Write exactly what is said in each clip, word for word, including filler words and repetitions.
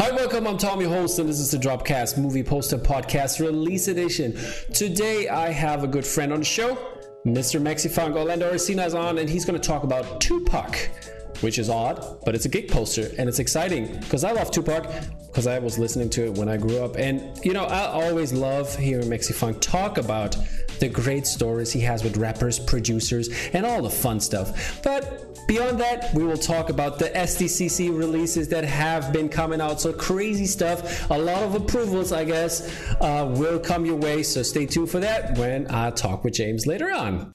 Hi, welcome. I'm Tommy Host, and this is the Dropcast Movie Poster Podcast Release Edition. Today, I have a good friend on the show, Mister Mexifunk. Orlando Orsina is on, and he's going to talk about Tupac, which is odd, but it's a gig poster, and it's exciting because I love Tupac because I was listening to it when I grew up. And, you know, I always love hearing Mexifunk talk about the great stories he has with rappers, producers, and all the fun stuff. But beyond that, we will talk about the S D C C releases that have been coming out. So crazy stuff, a lot of approvals, I guess, uh, will come your way. So stay tuned for that when I talk with James later on.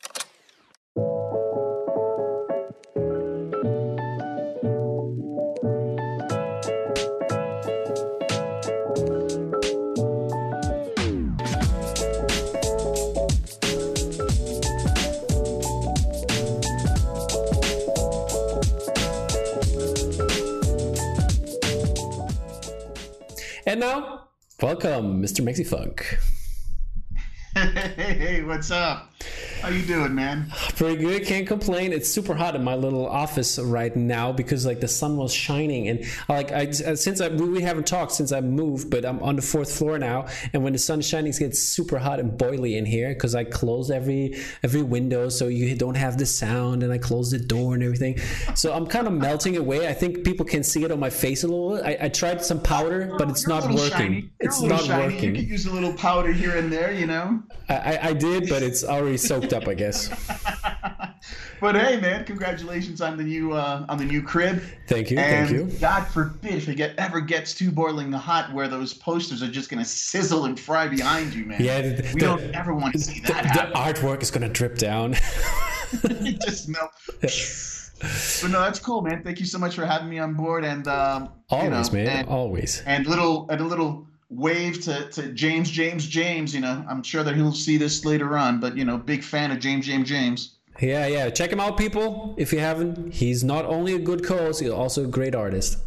And now, welcome, Mister Mexifunk. Hey, hey, what's up? How you doing, man? Pretty good. Can't complain. It's super hot in my little office right now because like the sun was shining, and like I since I we haven't talked since I moved, but I'm on the fourth floor now, and when the sun's shining, it gets super hot and boily in here because I close every every window so you don't have the sound, and I close the door and everything. So I'm kind of melting away. I think people can see it on my face a little bit. I, I tried some powder, but it's You're not working. It's not shiny. working. You could use a little powder here and there, you know. I, I did, but it's already soaked up, I guess. But hey, man, congratulations on the new uh, on the new crib. Thank you, and thank you. God forbid if it get, ever gets too boiling hot, where those posters are just gonna sizzle and fry behind you, man. Yeah, the, we the, don't ever want to see that the, happen. The artwork is gonna drip down. It just melt. But no, that's cool, man. Thank you so much for having me on board, and um, always, you know, man, and, always. And little and a little. wave to, to James, James, James, you know, I'm sure that he'll see this later on, but, you know, big fan of James, James, James. Yeah, yeah. Check him out, people, if you haven't. He's not only a good co-host, he's also a great artist.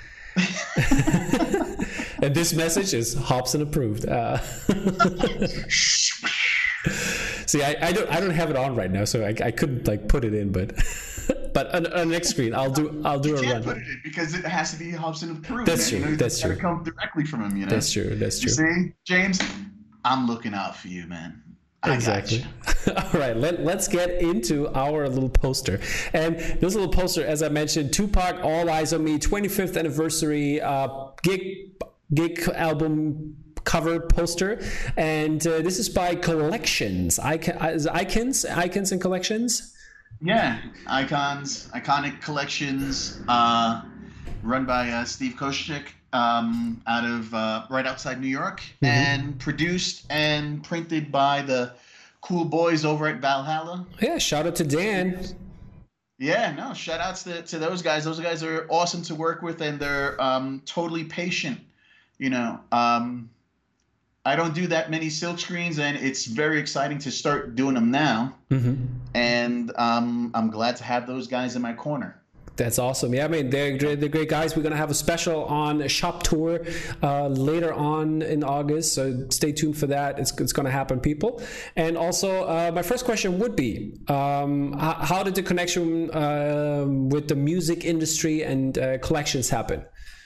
And this message is Hobson approved. Uh, see, I, I don't I don't have it on right now, so I, I couldn't, like, put it in, but... But on, on the next screen, I'll do I'll do you a can't run. Put it in because it has to be Hobson approved. That's man. true. You know, that's it's true. Gotta come directly from him. You know. That's true. That's true. You see, James, I'm looking out for you, man. I exactly. All right, let, let's get into our little poster. And this little poster, as I mentioned, Tupac, All Eyes on Me, twenty-fifth anniversary uh, gig gig album cover poster, and uh, this is by Collections. Icon, is it Icons, Icons and Collections. Yeah, Icons, Iconic Collections, uh, run by uh, Steve Koscheck, um, out of uh, right outside New York, mm-hmm. and produced and printed by the cool boys over at Valhalla. Yeah, shout out to Dan. Yeah, no, shout outs to, to those guys. Those guys are awesome to work with, and they're um, totally patient. You know, um, I don't do that many silk screens, and it's very exciting to start doing them now. Mm-hmm. And um, I'm glad to have those guys in my corner. That's awesome. Yeah, I mean, they're, they're great guys. We're going to have a special on a shop tour uh, later on in August, so stay tuned for that. It's, it's going to happen, people. And also, uh, my first question would be, um, how, how did the connection uh, with the music industry and uh, collections happen?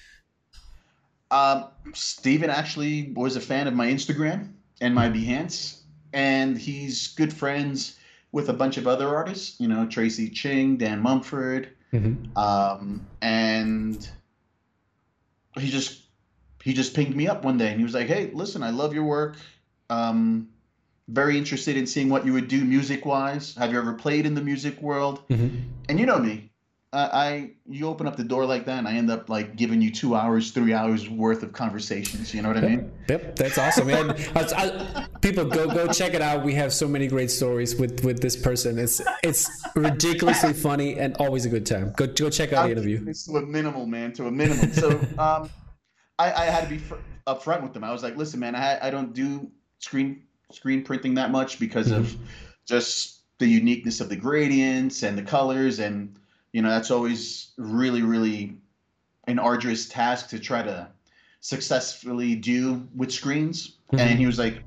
Um, Steven actually was a fan of my Instagram and my Behance, and he's good friends with a bunch of other artists, you know, Tracy Ching, Dan Mumford, mm-hmm. um, and he just he just pinged me up one day, and he was like, "Hey, listen, I love your work. Um, very interested in seeing what you would do music-wise. Have you ever played in the music world?" Mm-hmm. And you know me. I you open up the door like that, and I end up like giving you two hours, three hours worth of conversations. You know what I mean? Yep, that's awesome. Man. I, I, people, go go check it out. We have so many great stories with, with this person. It's it's ridiculously funny and always a good time. Go go check out I'm the interview. It's to a minimal, man, to a minimum. So um, I, I had to be fr- upfront with them. I was like, listen, man, I I don't do screen screen printing that much because mm-hmm. of just the uniqueness of the gradients and the colors, and you know, that's always really, really an arduous task to try to successfully do with screens. Mm-hmm. And he was like,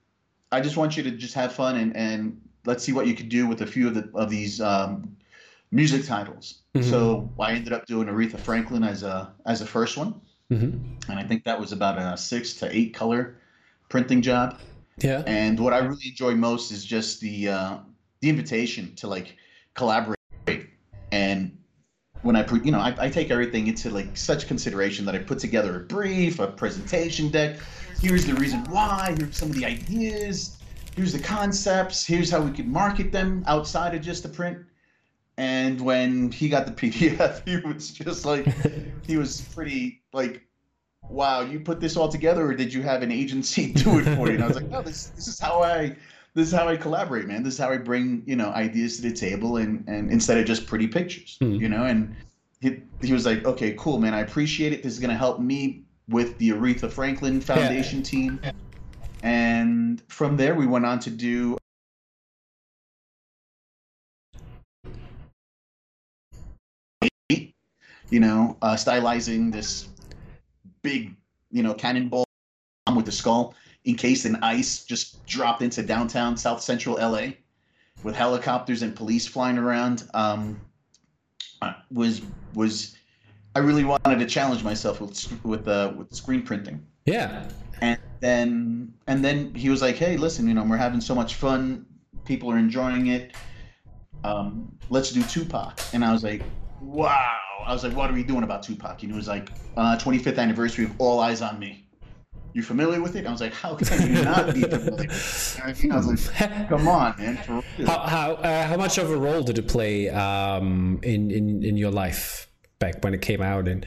I just want you to just have fun and, and let's see what you could do with a few of the of these um, music titles. Mm-hmm. So I ended up doing Aretha Franklin as a as a first one, Mm-hmm. and I think that was about a six to eight color printing job. Yeah. And what I really enjoy most is just the uh, the invitation to like collaborate. And when I, you know, I, I take everything into like such consideration that I put together a brief, a presentation deck. Here's the reason why. Here's some of the ideas. Here's the concepts. Here's how we could market them outside of just the print. And when he got the P D F, he was just like, he was pretty like, wow, you put this all together, or did you have an agency do it for you? And I was like, no, this this is how I this is how I collaborate, man. This is how I bring, you know, ideas to the table, and and instead of just pretty pictures, mm. you know. And he he was like, okay, cool, man. I appreciate it. This is gonna help me with the Aretha Franklin Foundation yeah. team. And from there, we went on to do. You know, uh, stylizing this big, you know, cannonball with the skull encased in ice, just dropped into downtown South Central L A with helicopters and police flying around. Um, was was I really wanted to challenge myself with with uh, with screen printing. Yeah. And then and then he was like, hey, listen, you know, we're having so much fun. People are enjoying it. Um, let's do Tupac. And I was like, wow. I was like, what are we doing about Tupac? And he was like, uh, twenty-fifth anniversary of All Eyes on Me. You familiar with it? And I was like, how can you not be familiar with it? I was like, come on, man. For real. How how, uh, how much of a role did it play um, in, in, in your life back when it came out? And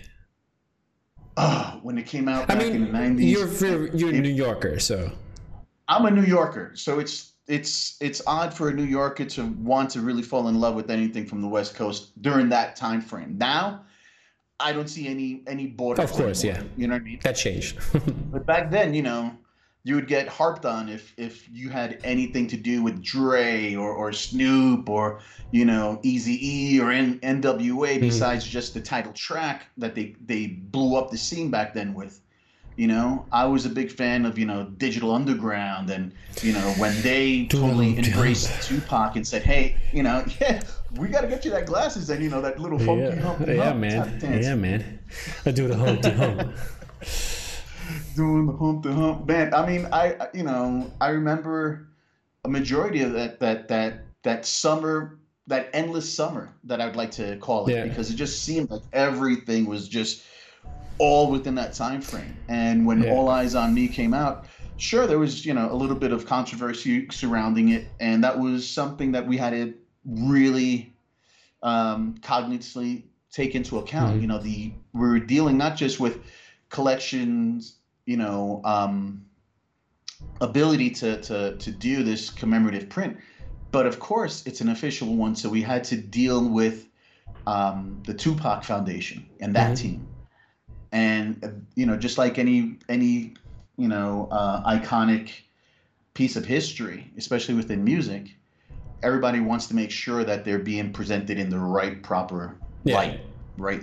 oh, when it came out back I mean, in the nineties. You're, you're a New Yorker, so. I'm a New Yorker, so it's it's it's odd for a New Yorker to want to really fall in love with anything from the West Coast during that time frame. Now, I don't see any any borders. Of course, anymore, yeah. You know what I mean? That changed. But back then, you know, you would get harped on if if you had anything to do with Dre or, or Snoop or, you know, Eazy-E or N- NWA besides mm-hmm. just the title track that they, they blew up the scene back then with. You know, I was a big fan of, you know, Digital Underground, and, you know, when they totally embraced Tupac and said, hey, you know, yeah, we got to get you that glasses and, you know, that little funky yeah. hump. Yeah, hump man. Yeah, man. I do the hump, the hump. Doing the hump, the hump. Man, I mean, I, you know, I remember a majority of that, that, that, that summer, that endless summer that I would like to call it, yeah. because it just seemed like everything was just all within that time frame. And when yeah. All Eyes on Me came out, sure, there was, you know, a little bit of controversy surrounding it, and that was something that we had to really um, cognitively take into account. Mm-hmm. You know, the we were dealing not just with collections, you know, um, ability to to to do this commemorative print, but of course it's an official one, so we had to deal with um, the Tupac Foundation and that mm-hmm. team. And, you know, just like any, any you know, uh, iconic piece of history, especially within music, everybody wants to make sure that they're being presented in the right, proper yeah. light, right?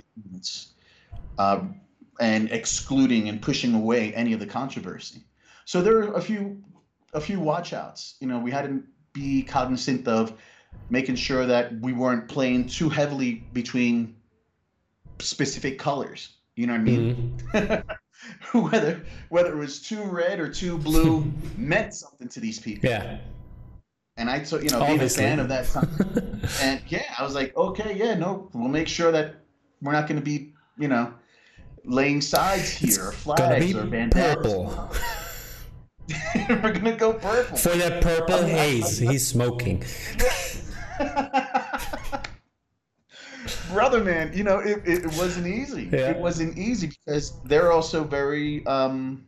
Uh, and excluding and pushing away any of the controversy. So there are a few, a few watch outs. You know, we had to be cognizant of making sure that we weren't playing too heavily between specific colors. You know what I mean? Mm-hmm. whether whether it was too red or too blue meant something to these people. Yeah. And I took, you know, being a fan of that time. And yeah, I was like, okay, yeah, no, we'll make sure that we're not going to be, you know, laying sides here, or flags or bandanas. Purple. We're going to go purple. For that purple I mean, haze, I, I, he's smoking. Brother, man, you know, it, it, it wasn't easy. Yeah. It wasn't easy because they're also very, um,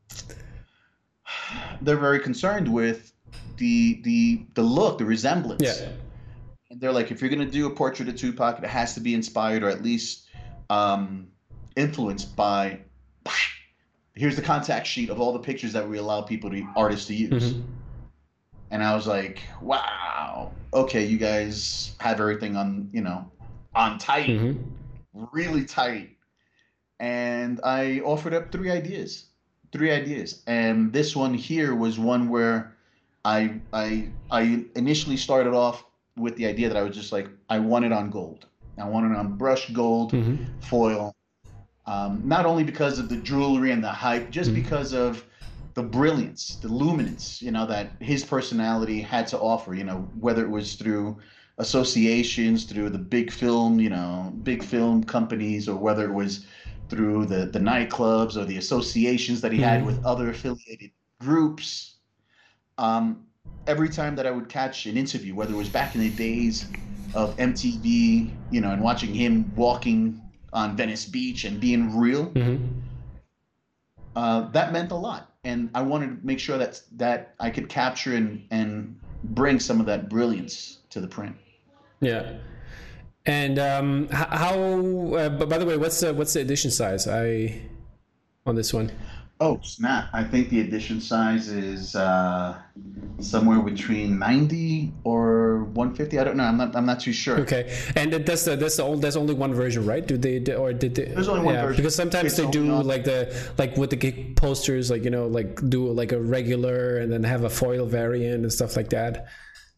they're very concerned with the the the look, the resemblance. Yeah. And they're like, if you're gonna do a portrait of Tupac, it has to be inspired or at least um, influenced by. Here's the contact sheet of all the pictures that we allow people to artists to use. Mm-hmm. And I was like, wow, okay, you guys have everything on, you know. on tight, mm-hmm. really tight. And I offered up three ideas, three ideas. And this one here was one where I I I initially started off with the idea that I was just like, I want it on gold. I want it on brushed gold Mm-hmm. foil. Um, not only because of the jewelry and the hype, just Mm-hmm. because of the brilliance, the luminance, you know, that his personality had to offer, you know, whether it was through associations, through the big film, you know, big film companies, or whether it was through the, the nightclubs or the associations that he had Mm-hmm. with other affiliated groups. Um, every time that I would catch an interview, whether it was back in the days of M T V, you know, and watching him walking on Venice Beach and being real, Mm-hmm. uh, that meant a lot. And I wanted to make sure that that I could capture and and bring some of that brilliance to the print. Yeah. And um, h- how? Uh, but by the way, what's the what's the edition size? I on this one. Oh, snap. I think the edition size is uh, somewhere between ninety or one fifty. I don't know. I'm not I'm not too sure. Okay, and that- that's the that's the old there's only one version, right? Do they or did they? There's only one yeah, version. because sometimes It's they only do on- like the like with the gig posters, like you know, like do like a regular and then have a foil variant and stuff like that.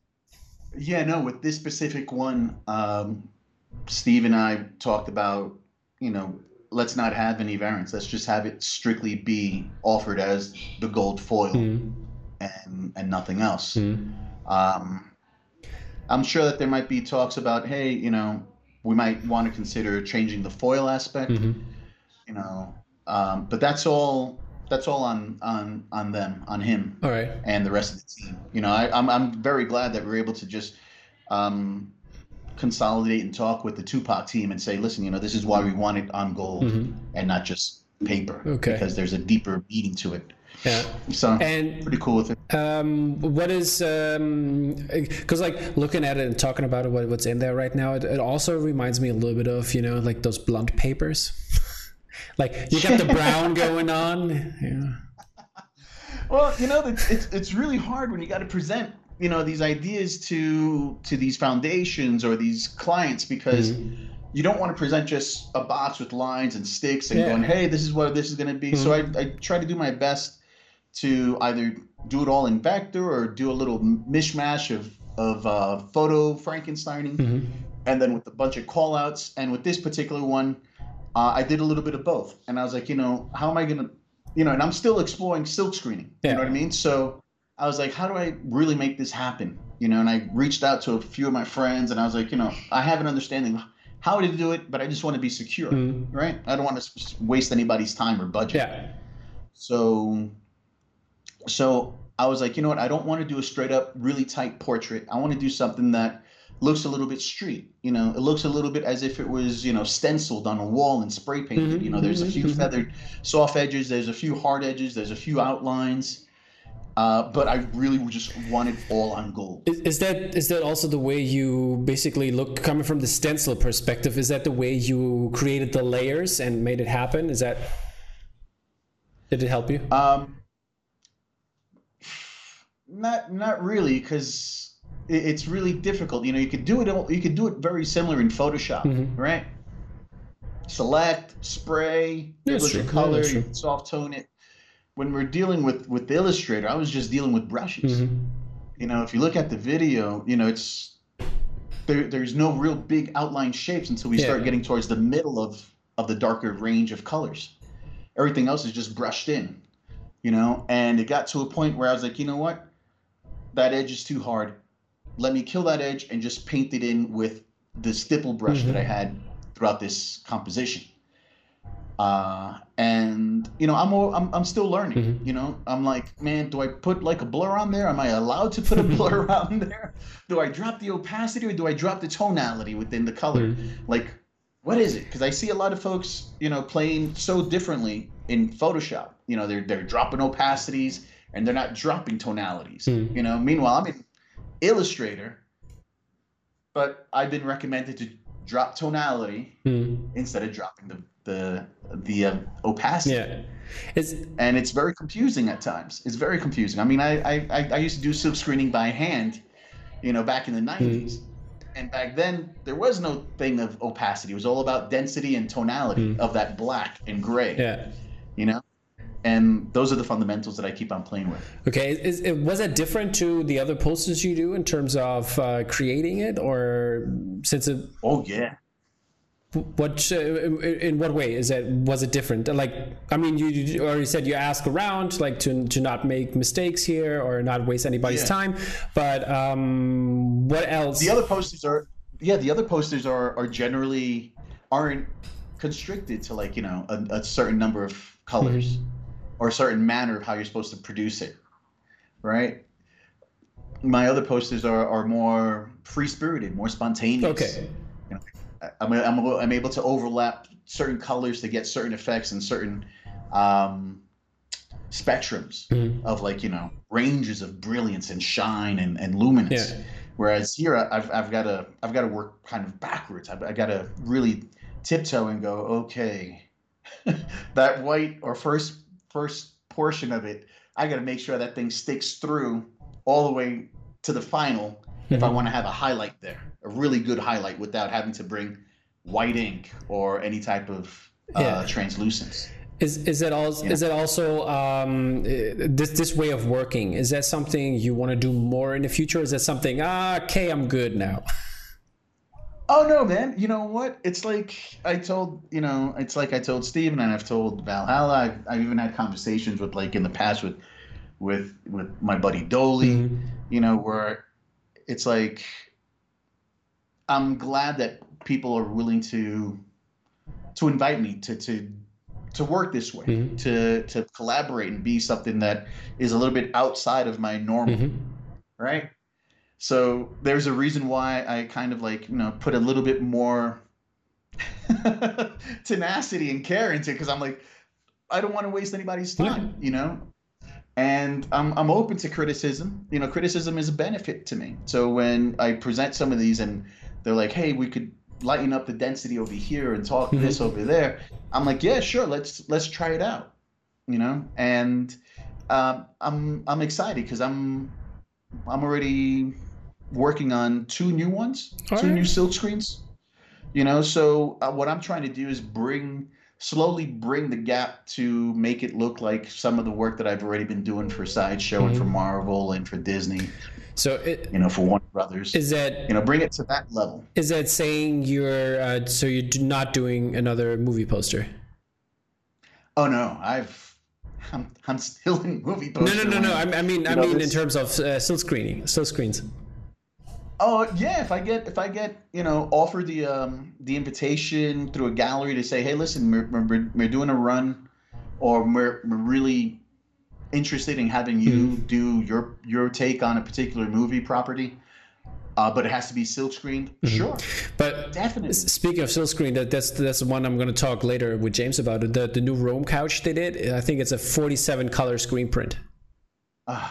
Yeah, no, with this specific one, um, Steve and I talked about, you know, let's not have any variants. Let's just have it strictly be offered as the gold foil Mm-hmm. and and nothing else. Mm-hmm. Um, I'm sure that there might be talks about, hey, you know, we might want to consider changing the foil aspect, Mm-hmm. you know, um, but that's all that's all on on on them, on him All right. and the rest of the team. You know, I, I'm I'm very glad that we're able to just um, consolidate and talk with the Tupac team and say, listen, you know, this is why we want it on gold Mm-hmm. and not just paper, Okay. because there's a deeper meaning to it. Yeah. So And pretty cool with it. um, what is um, because like looking at it and talking about it, what, what's in there right now, it, it also reminds me a little bit of you know like those blunt papers. Like you got the brown going on. Yeah. Well, you know, it's it's, it's really hard when you got to present, you know, these ideas to to these foundations or these clients, because Mm-hmm. you don't want to present just a box with lines and sticks and Yeah. going, hey, this is what this is going to be. So I, I try to do my best to either do it all in vector or do a little mishmash of of uh, photo Frankensteining, Mm-hmm. and then with a bunch of call outs. And with this particular one, uh, I did a little bit of both. And I was like, you know, how am I going to, you know, and I'm still exploring silk screening. Yeah. You know what I mean? So I was like, how do I really make this happen? You know, and I reached out to a few of my friends and I was like, you know, I have an understanding how to do it, but I just want to be secure, Mhm. right? I don't want to waste anybody's time or budget. Yeah. So, so I was like, you know what? I don't want to do a straight up, really tight portrait. I want to do something that looks a little bit street. You know, it looks a little bit as if it was, you know, stenciled on a wall and spray painted. Mhm, You know, there's a mhm, few mhm. feathered, soft edges. There's a few hard edges. There's a few outlines. Uh, but I really just wanted all on gold. Is, is that is that also the way you basically look coming from the stencil perspective? Is that the way you created the layers and made it happen? Is that did it help you? Um, not not really, because it, it's really difficult. You know, you could do it. all- You could do it very similar in Photoshop, Mhm. right? Select, spray, That's give it true. a Yeah, color, that's you true. can soft tone it. When we're dealing with with the Illustrator, I was just dealing with brushes. Mhm. You know, if you look at the video, you know, it's there. There's no real big outline shapes until we Yeah. start getting towards the middle of of the darker range of colors. Everything else is just brushed in, you know. And it got to a point where I was like, you know what, that edge is too hard. Let me kill that edge and just paint it in with the stipple brush Mhm. that I had throughout this composition. Uh, and you know, I'm all, I'm I'm still learning. Mhm. You know, I'm like, man, do I put like a blur on there? Am I allowed to put a blur on there? Do I drop the opacity or do I drop the tonality within the color? Mhm. Like, what is it? Because I see a lot of folks, you know, playing so differently in Photoshop. You know, they're they're dropping opacities and they're not dropping tonalities. Mhm. You know, meanwhile, I'm in Illustrator, but I've been recommended to drop tonality Mhm. instead of dropping the the the uh, opacity. Yeah. It's And it's very confusing at times. It's very confusing. I mean, I I, I- I used to do silk screening by hand, you know, back in the nineties. And back then, there was no thing of opacity. It was all about density and tonality Mm. of that black and gray, yeah. you know? And those are the fundamentals that I keep on playing with. Okay, is, is was it different to the other posters you do in terms of uh, creating it, or since it? Oh yeah. What uh, in what way is that? Was it different? Like, I mean, you, you already said you ask around, like to to not make mistakes here or not waste anybody's yeah. time. But um, what else? The other posters are yeah. The other posters are are generally aren't constricted to like you know a, a certain number of colors mm-hmm. or a certain manner of how you're supposed to produce it, right? My other posters are are more free spirited, more spontaneous. Okay. I'm, I'm, I'm able to overlap certain colors to get certain effects and certain um, spectrums mm-hmm. of like, you know, ranges of brilliance and shine and, and luminance. Yeah. Whereas here I've, I've got to I've got to work kind of backwards. I've, I've got to really tiptoe and go, okay, that white or first first portion of it, I got to make sure that thing sticks through all the way to the final mm-hmm. if I want to have a highlight there. A really good highlight without having to bring white ink or any type of uh, yeah. translucence. Is is that also yeah. is that also um, this this way of working? Is that something you want to do more in the future? Or is that something ah, okay, I'm good now? Oh no, man! You know what? It's like I told you know, it's like I told Steven and I've told Valhalla. I've, I've even had conversations with like in the past with with with my buddy Dolly. Mm-hmm. You know, where it's like. I'm glad that people are willing to to invite me to to to work this way, mm-hmm. to to collaborate and be something that is a little bit outside of my normal, mm-hmm. right? So there's a reason why I kind of like, you know, put a little bit more tenacity and care into it, because I'm like, I don't want to waste anybody's time, yeah. you know? And I'm I'm open to criticism. You know, criticism is a benefit to me. So when I present some of these and they're like, hey, we could lighten up the density over here and talk mm-hmm. this over there. I'm like, yeah, sure. Let's let's try it out, you know. And um, I'm I'm excited because I'm I'm already working on two new ones, All two right. new silk screens. You know, so uh, what I'm trying to do is bring slowly bring the gap to make it look like some of the work that I've already been doing for Sideshow mm-hmm. and for Marvel and for Disney. So it, you know, for Warner Brothers, is that you know, bring it to that level. Is that saying you're uh, so you're not doing another movie poster? Oh no, I've I'm I'm still in movie poster. No, no, no, no. I, I mean, I know, mean, this... in terms of uh, silk screening, silk screens. Oh yeah, if I get if I get you know offered the um the invitation through a gallery to say, hey, listen, we're we're, we're doing a run, or we're we're really interested in having you mm-hmm. do your your take on a particular movie property, uh, but it has to be silk screened. Mm-hmm. Sure, but definitely. Speaking of silk screen, that that's that's the one I'm going to talk later with James about. It. The the new Rome couch they did. I think it's a forty-seven color screen print. Uh,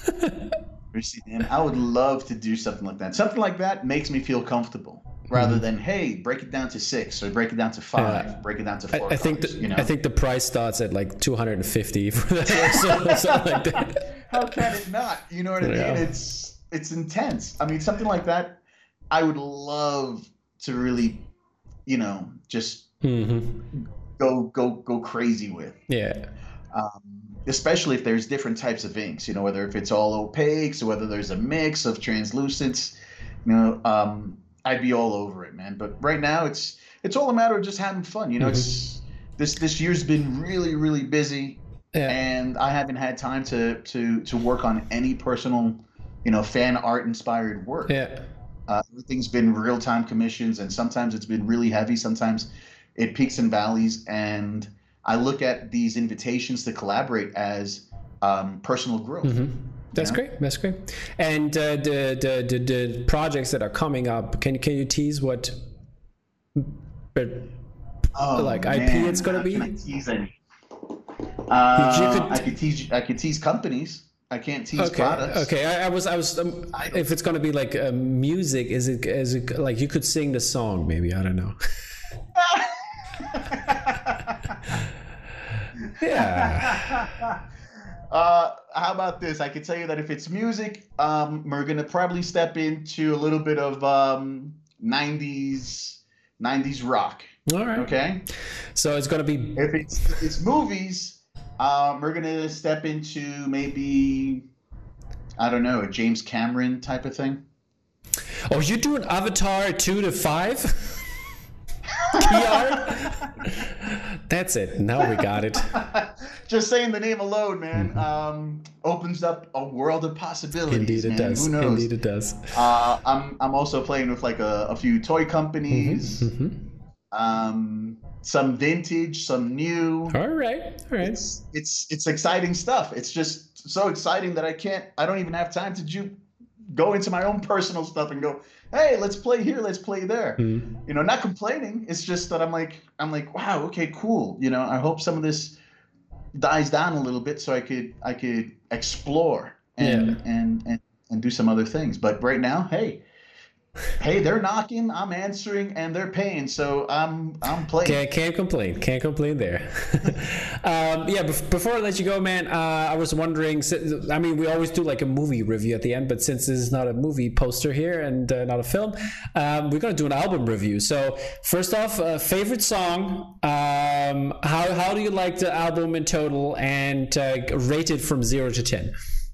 man, I would love to do something like that. Something like that makes me feel comfortable. Rather mm-hmm. than, hey, break it down to six or break it down to five, uh, break it down to four. I, I think colors, the, you know? I think the price starts at like two hundred fifty for that or something like that. How can it not? You know what I mean? Yeah. It's it's intense. I mean, something like that, I would love to really, you know, just mm-hmm. go go go crazy with. Yeah. Um, especially if there's different types of inks. You know, whether if it's all opaques or whether there's a mix of translucents. You know. Um, I'd be all over it, man. But right now, it's it's all a matter of just having fun. You know, mm-hmm. it's this this year's been really really busy, yeah. and I haven't had time to to to work on any personal, you know, fan art inspired work. Yeah, uh, everything's been real time commissions, and sometimes it's been really heavy. Sometimes it peaks and valleys, and I look at these invitations to collaborate as um, personal growth. Mm-hmm. That's yeah. great. That's great. And uh, the, the the the projects that are coming up, can can you tease what, oh, like man. I P it's gonna How be? Can I tease any? Uh, could, I could tease. I could tease companies. I can't tease okay, products. Okay. I, I was. I was. Um, I if it's gonna be like uh, music, is it? Is it like you could sing the song? Maybe I don't know. yeah. Uh, how about this? I can tell you that if it's music, um, we're gonna probably step into a little bit of um, nineties nineties rock. All right. Okay. So it's gonna be. If it's if it's movies, Um, we're gonna step into maybe, I don't know, a James Cameron type of thing. Oh, you're doing Avatar two to five? Key art? That's it. Now we got it. Just saying the name alone, man, um, opens up a world of possibilities. Indeed, it man. does. Who knows? Indeed, it does. Uh, I'm I'm also playing with like a, a few toy companies, Mm-hmm, mm-hmm. um, some vintage, some new. All right, all right. It's it's it's exciting stuff. It's just so exciting that I can't. I don't even have time to ju- go into my own personal stuff and go, hey, let's play here, let's play there. Mm. You know, not complaining. It's just that I'm like, I'm like, wow, okay, cool. You know, I hope some of this dies down a little bit so I could, I could explore and, Yeah. and, and, and do some other things. But right now, hey, hey, they're knocking, I'm answering, and they're paying. So I'm, I'm playing. Can't, can't complain. Can't complain there. um, yeah, bef- before I let you go, man, uh, I was wondering, si- I mean, we always do like a movie review at the end, but since this is not a movie poster here and uh, not a film, um, we're going to do an album review. So first off, uh, favorite song, um, how, how do you like the album in total, and uh, rate it from zero to ten?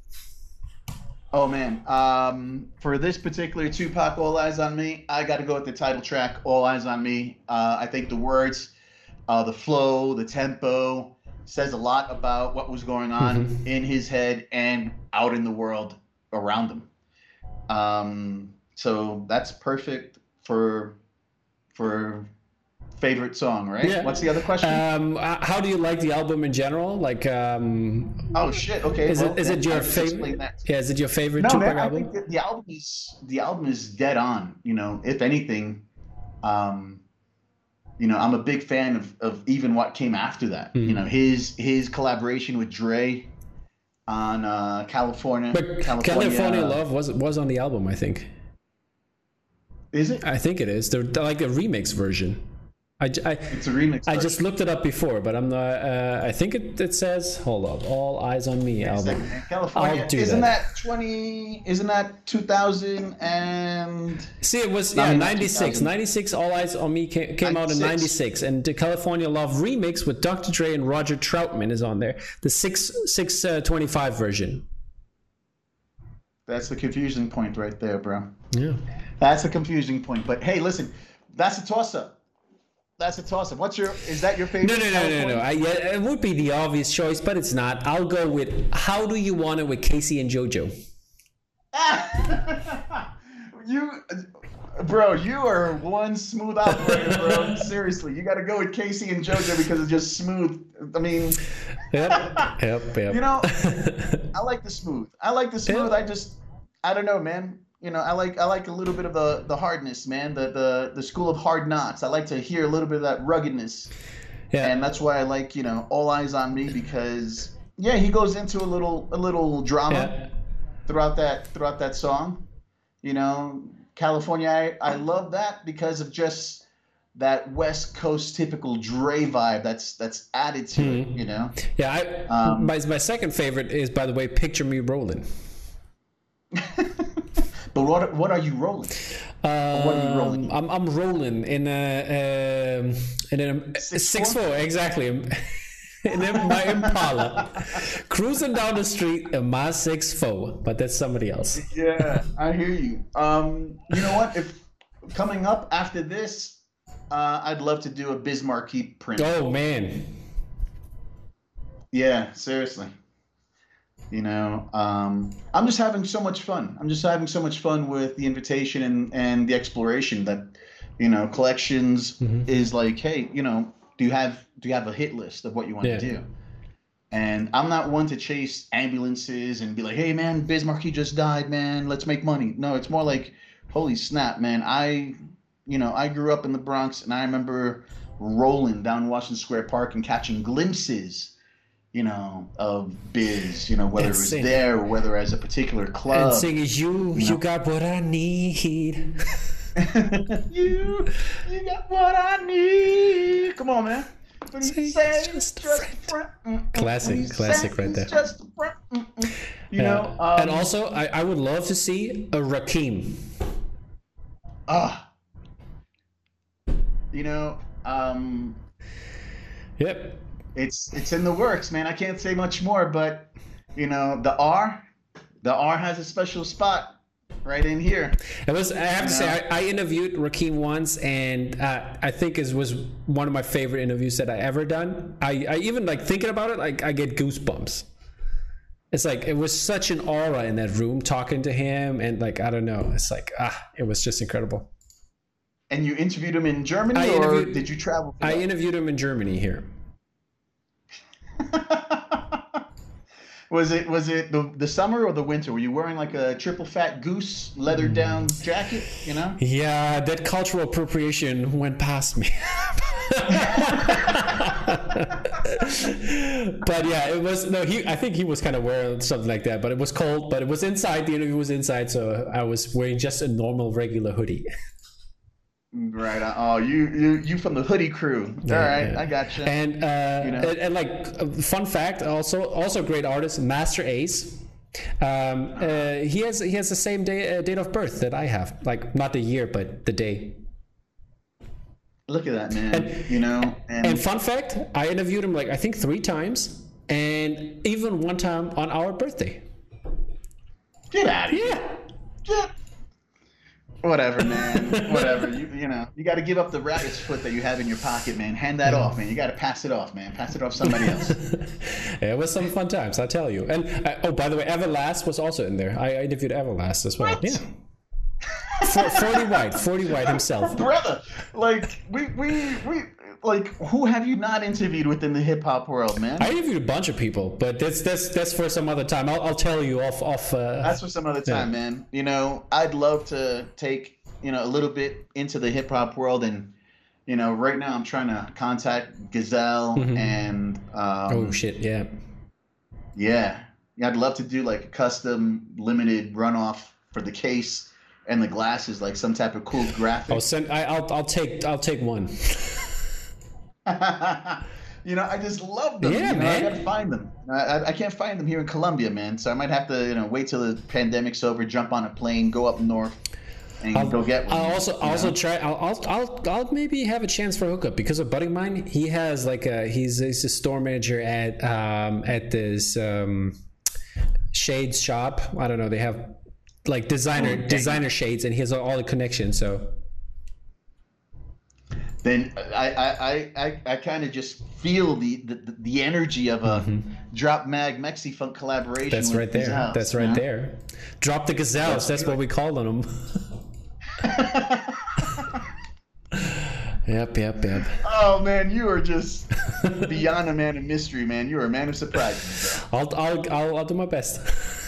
Oh man, um, for this particular Tupac, All Eyes on Me, I got to go with the title track, All Eyes on Me. Uh, I think the words, uh, the flow, the tempo says a lot about what was going on mm-hmm. in his head and out in the world around him. Um, so that's perfect for for favorite song, right? Yeah. What's the other question? Um, how do you like the album in general? Like, um, oh shit, okay. Is well, it is it your favorite? Yeah, is it your favorite no, Tupac man, album? I think that the album is the album is dead on. You know, if anything, um, you know, I'm a big fan of of even what came after that. Mm. You know, his his collaboration with Dre on uh, California. But California, California Love was was on the album, I think. Is it? I think it is. They're, they're like a remix version. I, I, it's a remix. I just looked it up before, but I'm not. Uh, I think it, it says, hold up, All Eyes on Me album. California. I'll do isn't that. that twenty? Isn't that two thousand and? See, it was yeah ninety-six. ninety-six. All Eyes on Me came, came out in ninety-six, and the California Love remix with Doctor Dre and Roger Troutman is on there. The six six uh, twenty-five version. That's the confusing point right there, bro. Yeah. That's a confusing point. But hey, listen, that's a toss-up. That's a toss-up. What's your? Is that your favorite? No, no, no, no, no. I, yeah, it would be the obvious choice, but it's not. I'll go with How Do You Want It with Casey and JoJo. you, bro, you are one smooth operator, bro. Seriously, you got to go with Casey and JoJo because it's just smooth. I mean, yep, yep, yep. You know, I like the smooth. I like the smooth. Yep. I just, I don't know, man. You know, I like I like a little bit of the, the hardness, man. The, the the school of hard knocks. I like to hear a little bit of that ruggedness. Yeah. And that's why I like, you know, All Eyes on Me, because yeah, he goes into a little a little drama yeah. throughout that throughout that song. You know, California, I, I love that because of just that West Coast typical Dre vibe that's that's added to mm-hmm. it, you know. Yeah, I, um, my my second favorite is, by the way, Picture Me Rolling. But what what are you rolling? Uh, what are you rolling? I'm I'm rolling in a um, in a six, six four? four exactly. in my Impala, cruising down the street in my six four, but that's somebody else. Yeah, I hear you. Um, you know what? If coming up after this, uh, I'd love to do a Biz Markie print. Oh man. Yeah, seriously. You know, um, I'm just having so much fun. I'm just having so much fun with the invitation and, and the exploration that, you know, collections mm-hmm. is like, hey, you know, do you have do you have a hit list of what you want yeah. to do? And I'm not one to chase ambulances and be like, hey, man, Biz Markie just died, man. Let's make money. No, it's more like, holy snap, man. I, you know, I grew up in the Bronx and I remember rolling down Washington Square Park and catching glimpses, you know, of Biz, you know, whether and it was sing. there or whether as a particular club. And singing, you, you, you got what I need. you, you got what I need. Come on, man. But he says just, just a friend. friend. Classic, classic right there. Just a friend. You yeah. know. Um, and also, I, I would love to see a Rakim. Ah. You know, um. Yep. it's it's in the works, man. I can't say much more, but you know, the R, the R has a special spot right in here. It was. I have You to know? say, I, I interviewed Rakeem once, and uh, I think it was one of my favorite interviews that I ever done. I, I even like thinking about it, like I get goosebumps. It's like it was such an aura in that room talking to him, and like I don't know, it's like ah, it was just incredible. And you interviewed him in Germany, I or interviewed- did you travel? for I that? interviewed him in Germany here. Was it was it the the summer or the winter? Were you wearing like a triple fat goose leather down jacket? You know. Yeah, that cultural appropriation went past me. But yeah, it was no. He, I think he was kind of wearing something like that. But it was cold. But it was inside. The interview was inside, so I was wearing just a normal, regular hoodie. Right. on. Oh, you you you from the hoodie crew. All Yeah, right, yeah. I got you. And uh, You know? and, and like uh, fun fact, also also great artist, Master Ace. Um, uh, he has he has the same day uh, date of birth that I have. Like not the year, but the day. Look at that, man. you know, and, And fun fact, I interviewed him like I think three times, and even one time on our birthday. get out of here. Yeah. Get- Whatever, man. Whatever. You you know, you got to give up the rabbit's foot that you have in your pocket, man. Hand that off, man. You got to pass it off, man. Pass it off to somebody else. It was some fun times, I tell you. And uh, oh, by the way, Everlast was also in there. I, I interviewed Everlast as well. What? Yeah. For, forty White, forty White himself. Brother, like we we we like who have you not interviewed within the hip hop world, man? I interviewed a bunch of people, but that's that's that's for some other time. I'll, I'll tell you off off. Uh, That's for some other time, Yeah. man. You know, I'd love to take, you know, a little bit into the hip hop world, and you know, right now I'm trying to contact Gazelle Mhm. and um, oh shit! Yeah. yeah, yeah, I'd love to do like a custom limited runoff for the case and the glasses, like some type of cool graphic. I'll send. I, I'll I'll take I'll take one. You know, I just love them. Yeah, you know, man. I gotta find them. I, I- I can't find them here in Colombia, man. So I might have to, you know, wait till the pandemic's over, jump on a plane, go up north, and I'll, go get one. I'll also you also know? try. I'll, I'll I'll I'll maybe have a chance for a hookup because a buddy of mine. He has like a he's he's a store manager at um at this um shades shop. I don't know. They have like designer Oh, dang. designer shades, and he has all the connections. So Then I I I, I, I kind of just feel the, the the energy of a Drop Mag Mexi Funk collaboration. that's with right there. Gazelles, That's you right know? there. Drop the gazelles. That's what we call on them. Yep, yep, yep. Oh man, you are just beyond a man of mystery, man. You are a man of surprises. Bro. I'll I'll I'll, I'll do my best.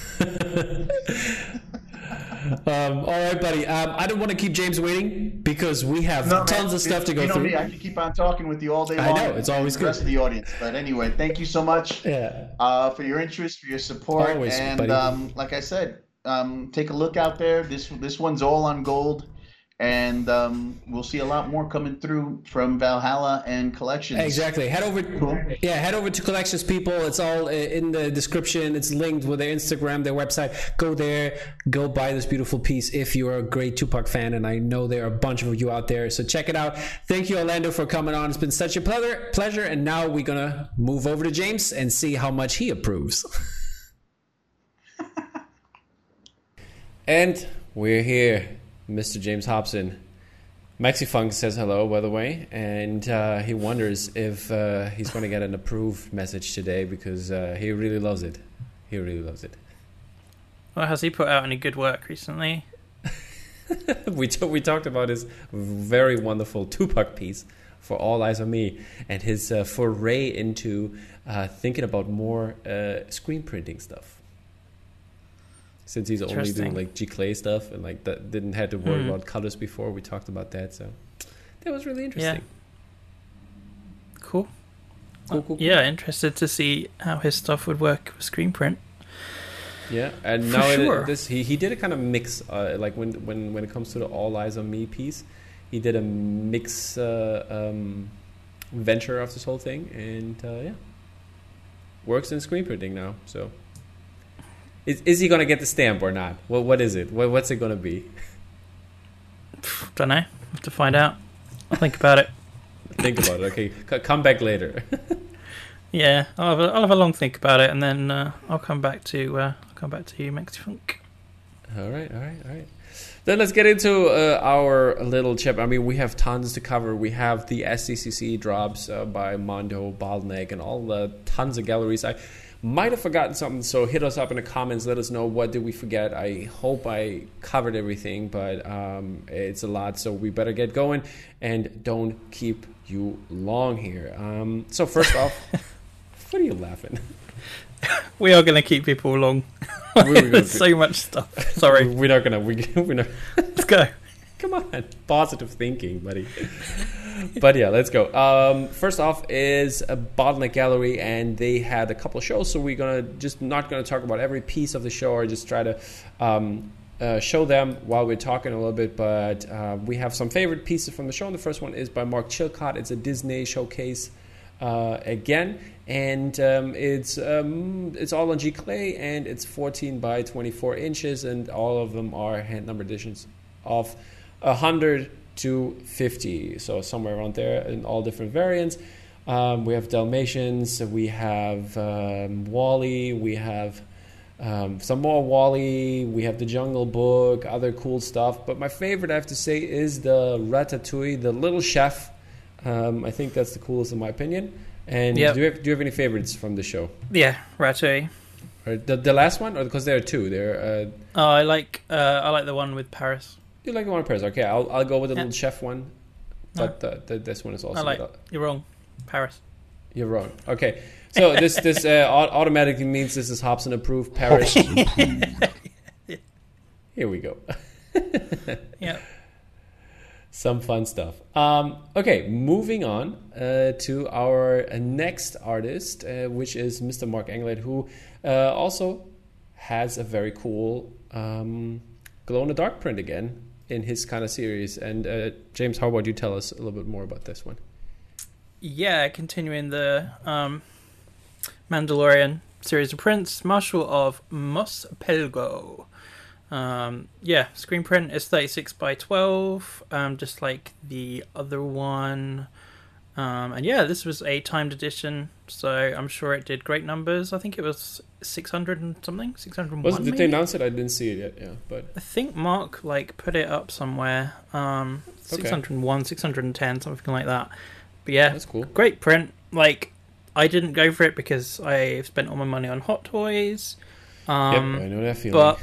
um, all right, buddy. Um, I don't want to keep James waiting because we have No, tons man, of stuff to go you know through. me, I can keep on talking with you all day I long. know, it's always and the rest good. of the audience. But anyway, thank you so much Yeah. uh, for your interest, for your support, Always, and buddy. um, like I said, um, take a look out there. This this one's all on gold, and um, we'll see a lot more coming through from Valhalla and Collections. Exactly. Head over. Cool. Yeah, head over to Collections People. It's all uh, in the description. It's linked with their Instagram, their website. Go there. Go buy this beautiful piece if you're a great Tupac fan, and I know there are a bunch of you out there. So check it out. Thank you, Orlando, for coming on. It's been such a pleasure. Pleasure. And now we're gonna move over to James and see how much he approves. And we're here, Mister James Hobson. Maxifunk says hello, by the way, and uh, he wonders if uh, he's going to get an approved message today because uh, he really loves it. He really loves it. Well, has he put out any good work recently? we t- we talked about his very wonderful Tupac piece for All Eyes on Me and his uh, foray into uh, thinking about more uh, screen printing stuff. Since he's only doing Interesting. like G Clay stuff and like that didn't have to worry Hmm. about colors before, we talked about that, so that was really interesting. Cool. Cool, cool, cool. Yeah, interested to see how his stuff would work with screen print. Yeah, and For now it- sure. this he, he did a kind of mix, uh, like when when when it comes to the All Eyes on Me piece, he did a mix uh, um, venture of this whole thing, and uh, yeah, works in screen printing now. So, is is he gonna get the stamp or not? Well, what is it? What, what's it gonna be? Don't know. Have to find out. I'll think about it. Think about it. Okay, C- come back later. Yeah, I'll have a, I'll have a long think about it, and then uh, I'll come back to uh, I'll come back to you, Mexifunk. All right, all right, all right. Then let's get into uh, our little chip. I mean, we have tons to cover. We have the S D C C drops uh, by Mondo, Bottleneck, and all the tons of galleries. I might have forgotten something, so hit us up in the comments. Let us know what did we forget. I hope I covered everything, but um, it's a lot, so we better get going and don't keep you long here. Um, so first off, what are you laughing? We are going to keep people long. There's so much stuff. Sorry. We're not going to. We, we're not. Let's go. Come on. Positive thinking, buddy. But yeah, let's go. Um, first off is a Bottleneck Gallery, and they had a couple of shows, so we're going to just not going to talk about every piece of the show or just try to um, uh, show them while we're talking a little bit. But uh, we have some favorite pieces from the show, and the first one is by Mark Chilcott. It's a Disney showcase uh, again. And um, it's um, it's all on G Clay, and it's fourteen by twenty-four inches, and all of them are hand number editions of one hundred to fifty, so somewhere around there in all different variants. Um, we have Dalmatians, we have um, Wall-E, we have um, some more Wall-E, we have the Jungle Book, other cool stuff. But my favorite, I have to say, is the Ratatouille, the Little Chef. Um, I think that's the coolest in my opinion. And yep. do, you have, do you have any favorites from the show? Yeah, Ratatouille. Or the the last one, or because there are two. There. Uh, oh, I like uh, I like the one with Paris. You like the one with Paris? Okay, I'll I'll go with the yeah. Little Chef one. But no. the, the, this one is also. I like. Good. You're wrong, Paris. You're wrong. Okay, so this this uh, automatically means this is Hobson approved. Paris. Here we go. Yeah. Some fun stuff. Um, okay, moving on uh, to our next artist, uh, which is Mister Mark Englert, who uh, also has a very cool um, glow-in-the-dark print again in his kind of series. And uh, James, how about you tell us a little bit more about this one? Yeah, continuing the um, Mandalorian series of prints, Marshal of Mos Pelgo. Um, yeah, screen print is thirty-six by twelve, um, just like the other one. Um, and yeah, this was a timed edition, so I'm sure it did great numbers. I think it was six hundred and something, six hundred and one. Was it, did maybe? they announce it? I didn't see it yet. Yeah, but I think Mark like put it up somewhere. Um, six hundred and one, six hundred and ten, something like that. But yeah, that's cool. Great print. Like, I didn't go for it because I spent all my money on Hot Toys. Um, yep, I know that feeling. But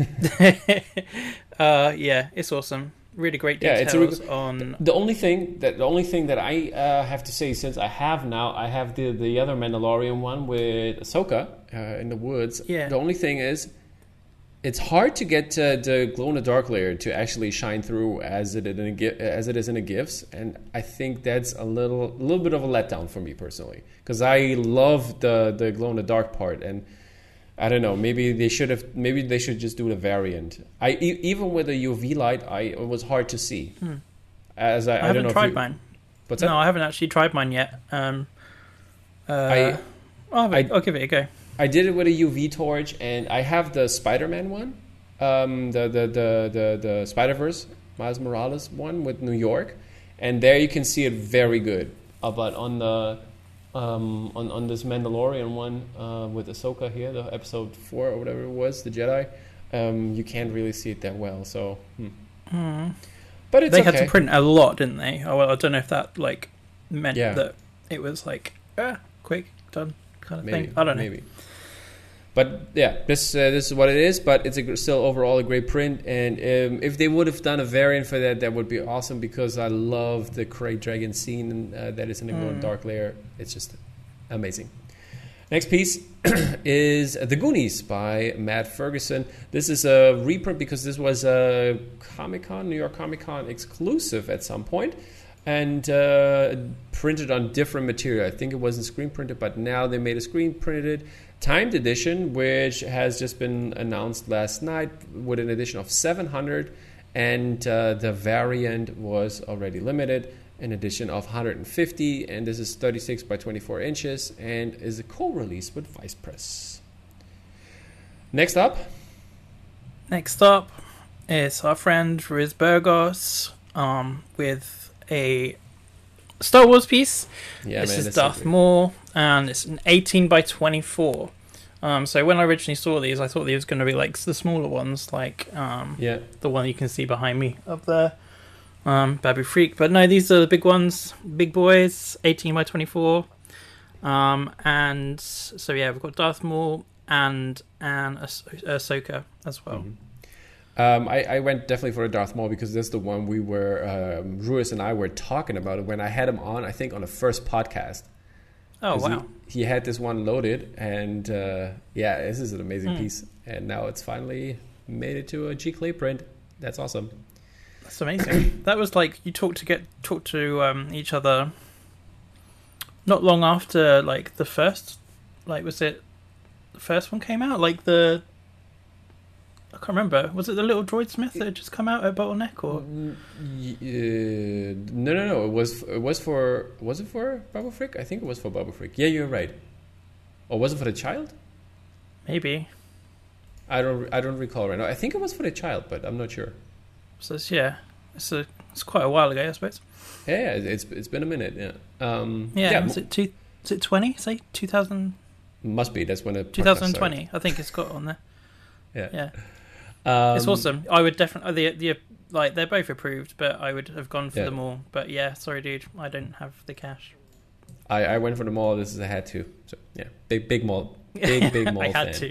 uh, yeah, it's awesome. Really great details. Yeah, it's a re- on. The only thing that the only thing that I uh, have to say, since I have now, I have the the other Mandalorian one with Ahsoka uh, in the woods. Yeah. The only thing is, it's hard to get uh, the glow in the dark layer to actually shine through as it in a, as it is in the gifts, and I think that's a little a little bit of a letdown for me personally, because I love the the glow in the dark part. And I don't know. Maybe they should have. Maybe they should just do the variant. I e- even with a U V light, I it was hard to see. Hmm. As I, I, I haven't don't know tried if you, mine. What's that? No, I haven't actually tried mine yet. Um, uh, I, I'll, have it, I, I'll give it a go. I did it with a U V torch, and I have the Spider-Man one, um, the the the the, the Spider-Verse Miles Morales one with New York, and there you can see it very good. Uh, but on the Um, on, on this Mandalorian one uh, with Ahsoka here, the episode four or whatever it was, the Jedi, um, you can't really see it that well. So, hmm. Mm. But it's they okay. had to print a lot, didn't they? Oh, well, I don't know if that like meant yeah. that it was like ah, quick done kind of maybe, thing. I don't know. Maybe. But yeah, this uh, this is what it is. But it's a, still overall a great print. And um, if they would have done a variant for that, that would be awesome, because I love the Krayt Dragon scene uh, that is in the glow mm. dark layer. It's just amazing. Next piece is The Goonies by Matt Ferguson. This is a reprint because this was a Comic-Con, New York Comic-Con exclusive at some point, and uh, printed on different material. I think it wasn't screen printed, but now they made a screen printed timed edition, which has just been announced last night with an edition of seven hundred, and uh, the variant was already limited, an edition of one hundred fifty, and this is thirty-six by twenty-four inches and is a co-release with Vice Press. Next up. Next up is our friend Riz Burgos um, with a Star Wars piece. Yeah, this man, is this Darth is Maul. and it's an eighteen by twenty-four. Um, so when I originally saw these, I thought these were going to be like the smaller ones, like um, Yeah. the one you can see behind me up there, um, Babu Freak. But no, these are the big ones, big boys, eighteen by twenty-four. Um, and so yeah, we've got Darth Maul and and Ah- Ahsoka as well. Mm-hmm. Um, I, I went definitely for the Darth Maul because that's the one we were, um, Ruiz and I were talking about it when I had him on, I think on the first podcast. Oh 'Cause wow! He, he had this one loaded, and uh, yeah, this is an amazing Mm. piece. And now it's finally made it to a G Clay print. That's awesome. That's amazing. That was like you talked to get talk to um, each other. Not long after, like the first, like was it the first one came out? Like the I can't remember. Was it the little Droid Smith that had just come out at Bottleneck or? Mm, y- uh, no, no, no. It was it was for was it for Babu Frick? I think it was for Babu Frick. Yeah, you're right. Or was it for the child? Maybe. I don't I don't recall right now. I think it was for the child, but I'm not sure. So it's, yeah, it's a it's quite a while ago, I suppose. Yeah, yeah, it's it's been a minute. Yeah. Um, Yeah, yeah was it two? Is it twenty? Say two thousand. Must be. That's when it. twenty twenty. I think it's got on there. Yeah. Yeah. Um, It's awesome. I would definitely the the like they're both approved, but I would have gone for Yeah. them all. But yeah, sorry, dude, I don't have the cash. I, I went for the mall. This is a had to. So yeah, big big mall, big big mall. I had fan. to.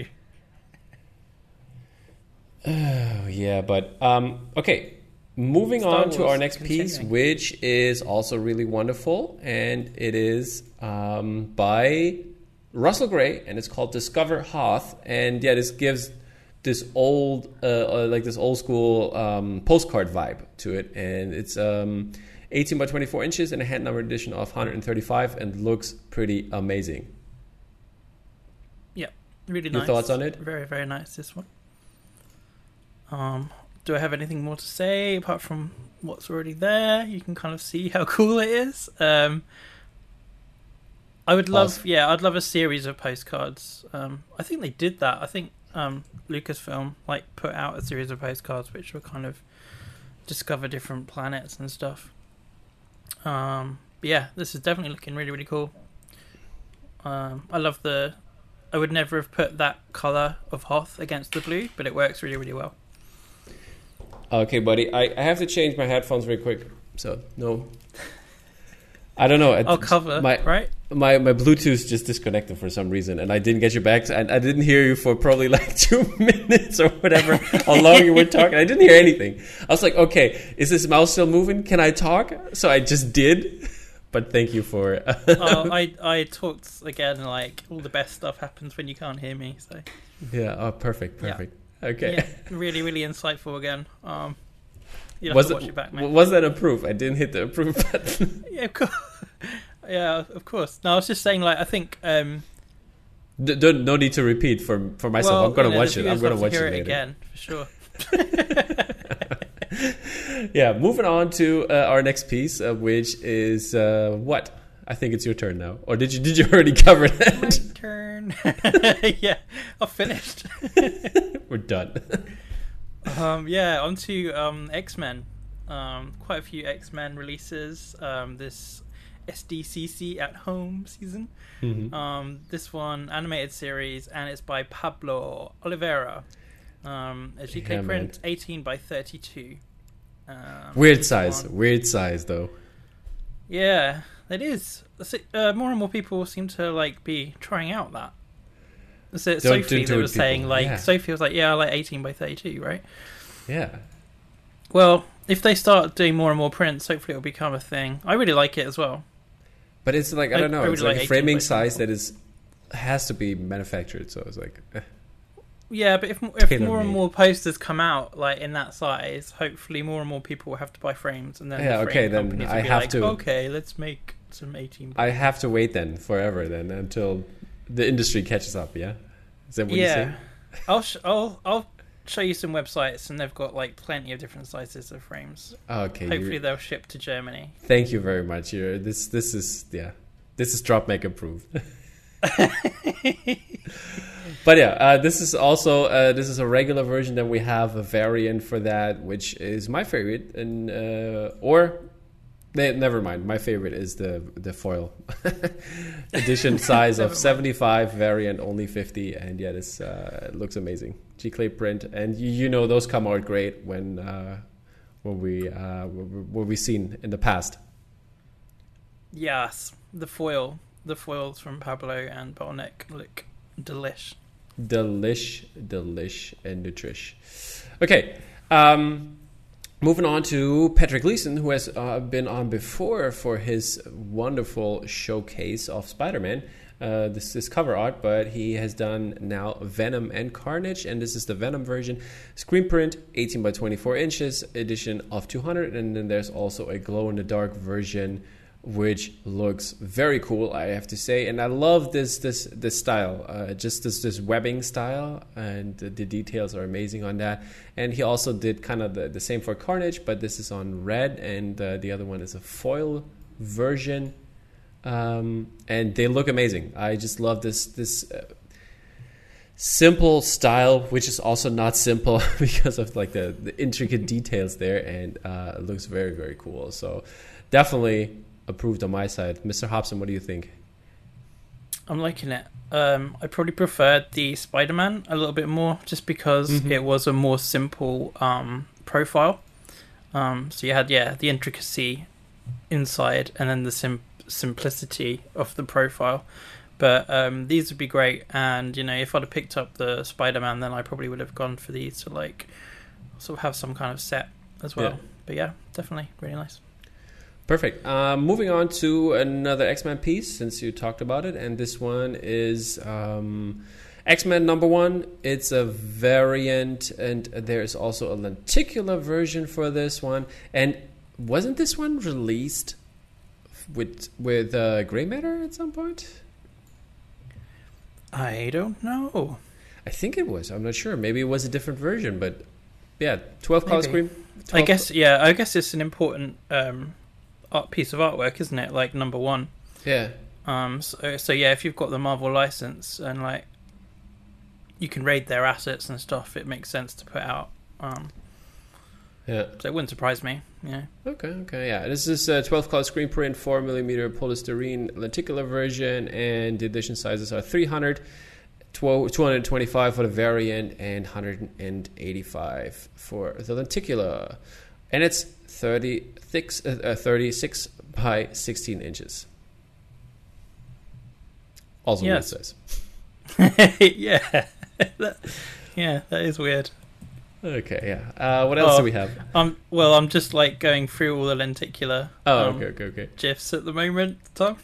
Oh yeah, but um, okay. Moving Star on to Wars our next piece, continuing. which is also really wonderful, and it is um, by Russell Gray, and it's called Discover Hoth. And yeah, this gives this old, uh, uh, like this old school um, postcard vibe to it, and it's um, eighteen by twenty-four inches and a hand numbered edition of one hundred thirty-five, and looks pretty amazing. Yeah, really Your nice. thoughts on it? Very very nice. This one. Um, do I have anything more to say apart from what's already there? You can kind of see how cool it is. Um, I would love, Awesome. yeah, I'd love a series of postcards. Um, I think they did that. I think um, Lucasfilm like put out a series of postcards which were kind of discover different planets and stuff. Um, but yeah, this is definitely looking really really cool. Um, I love the. I would never have put that color of Hoth against the blue, but it works really really well. Okay, buddy, I, I have to change my headphones real quick. So no, I don't know. I'll cover my right. my my Bluetooth just disconnected for some reason, and I didn't get you back. And I didn't hear you for probably like two minutes or whatever. How long you were talking? I didn't hear anything. I was like, okay, is this mouse still moving? Can I talk? So I just did. But thank you for. oh, I I talked again. Like all the best stuff happens when you can't hear me. So Yeah. Oh, perfect. Perfect. Okay. yeah, really really insightful again. Um, you have Was to it, watch it back, mate. was that approve? I didn't hit the approve button. Yeah, of course. Yeah, of course. No, I was just saying. Like I think. Um, D- don't, no need to repeat for for myself. well, I'm gonna you know, watch the it. I'm viewers gonna love watch to hear it later. again for sure. Yeah, moving on to uh, our next piece, uh, which is uh, what? I think it's your turn now. Or did you did you already cover My that? turn. Yeah, I've finished. We're done. Um, yeah, on to um, X-Men. Um, quite a few X-Men releases um, this S D C C at home season. Mhm. Um, this one, animated series, and it's by Pablo Oliveira. Um, a G K Yeah, print, man. eighteen by thirty-two. Um, Weird this size. one- Weird size, though. Yeah, it is. That's it. Uh, more and more people seem to like be trying out that. So Don't- Sophie, don't they do were it, saying people. like Yeah. Sophie was like, yeah, I like eighteen by thirty-two, right? Yeah. Well, if they start doing more and more prints, hopefully it'll become a thing. I really like it as well. But it's like, I I- don't know. I It's really like like a framing eighteen by size that is has to be manufactured. So it's like, eh. Yeah, but if if Tailor more and made. more posters come out like in that size, hopefully more and more people will have to buy frames, and then Yeah, the frame okay, then companies I will be have like, to- Okay, let's make some eighteen. I have to wait then forever then until the industry catches up. Yeah. Is that what you Yeah, say? I'll sh- I'll I'll show you some websites, and they've got like plenty of different sizes of frames. Okay. you- Hopefully they'll ship to Germany. Thank you very much. You're, this this is yeah, this is drop make approved. But yeah, uh, this is also uh, this is a regular version. Then we have a variant for that, which is my favorite, and uh, or Ne- never mind. My favorite is the the foil edition size of seventy-five, variant only fifty, and yeah, this uh, looks amazing. G-clay print, and you, you know those come out great when uh, when we uh, what we've seen in the past. Yes, the foil, the foils from Pablo and Bottleneck look delish. Delish, delish, and nutrish. Okay. Um, Moving on to Patrick Gleason, who has uh, been on before for his wonderful showcase of Spider-Man. Uh, this is cover art, but he has done now Venom and Carnage, and this is the Venom version. Screen print, eighteen by twenty-four inches, edition of two hundred, and then there's also a glow-in-the-dark version, which looks very cool, I have to say. And I love this this this style, uh, just this this webbing style, and the, the details are amazing on that. And he also did kind of the, the same for Carnage, but this is on red, and uh, the other one is a foil version. Um, and they look amazing. I just love this this uh, simple style, which is also not simple because of like the, the intricate details there, and uh, it looks very, very cool. So definitely approved on my side. Mister Hobson, what do you think? I'm liking it. Um, I probably preferred the Spider-Man a little bit more, just because mm-hmm. it was a more simple um, profile. Um, so you had, yeah, the intricacy inside, and then the sim- simplicity of the profile. But um, these would be great. And, you know, if I'd have picked up the Spider-Man, then I probably would have gone for these to, like, sort of have some kind of set as well. Yeah. But yeah, definitely really nice. Perfect. Uh, moving on to another X-Men piece, since you talked about it, and this one is um, X-Men number one. It's a variant, and there's also a lenticular version for this one. And wasn't this one released with with uh, Grey Matter at some point? I don't know. I think it was. I'm not sure. Maybe it was a different version, but yeah, twelve color screen. I guess, yeah, I guess it's an important Um, art piece of artwork, isn't it? Like number one. Yeah. Um. So, so yeah, if you've got the Marvel license and like you can raid their assets and stuff, it makes sense to put out. Um. Yeah. So it wouldn't surprise me. Yeah. Okay. Okay. Yeah. This is a twelve color screen print, four millimeter polystyrene lenticular version, and the edition sizes are three hundred, two hundred twenty-five for the variant, and one hundred eighty-five for the lenticular, and it's thirty-six, uh, thirty-six by sixteen inches. Also yes. what it says. yeah. that, yeah, that is weird. Okay, yeah. Uh, what else oh, do we have? Um, well, I'm just like going through all the lenticular oh, um, okay, okay, okay. GIFs at the moment, Tom.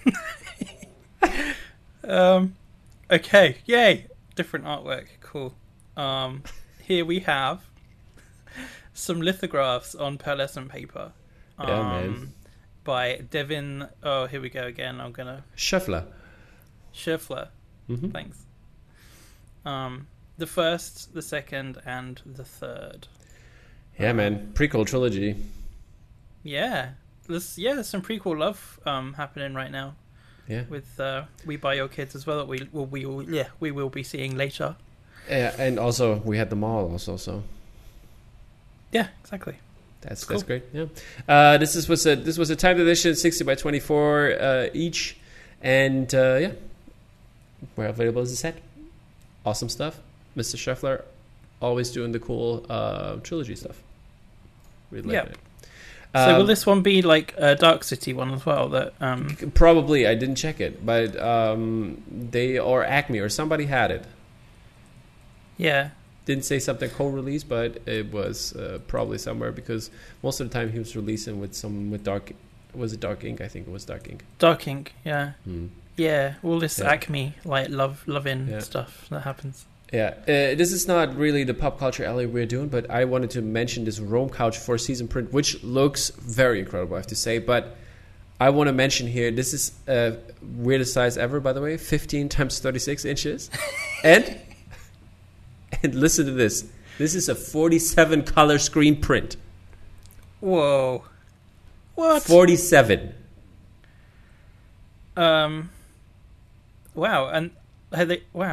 um, okay, yay. Different artwork. Cool. Um, here we have some lithographs on pearlescent paper. Um, yeah, man. By Devin. Oh, here we go again. I'm gonna. Scheffler. Scheffler. Mm-hmm. Thanks. Um, the first, the second, and the third. Yeah, um, man. Prequel trilogy. Yeah, there's yeah, there's some prequel love um happening right now. Yeah. With uh, We Buy Your Kids as well. That we will we will yeah we will be seeing later. Yeah, and also we had the mall also. So. Yeah, exactly. That's cool. that's great. Yeah, uh, this is was a this was a timed edition, sixty by twenty-four uh, each, and uh, yeah, we're available as a set. Awesome stuff, Mister Scheffler, always doing the cool uh, trilogy stuff. Really yeah. like it. So um, will this one be like a Dark City one as well? That um... probably I didn't check it, but um, they or Acme or somebody had it. Yeah. Didn't say something co-release, but it was uh, probably somewhere, because most of the time he was releasing with some with Dark. Was it Dark Ink? I think it was Dark Ink. Dark Ink, yeah, hmm. yeah. All this yeah. Acme like love, loving yeah. stuff that happens. Yeah, uh, this is not really the pop culture alley we're doing, but I wanted to mention this Rome Couch four season print, which looks very incredible, I have to say. But I want to mention here, this is uh, weirdest size ever, by the way, fifteen times thirty-six inches, and. And listen to this. This is a forty-seven color screen print. Whoa. What? forty-seven. Um. Wow. And had they? Wow.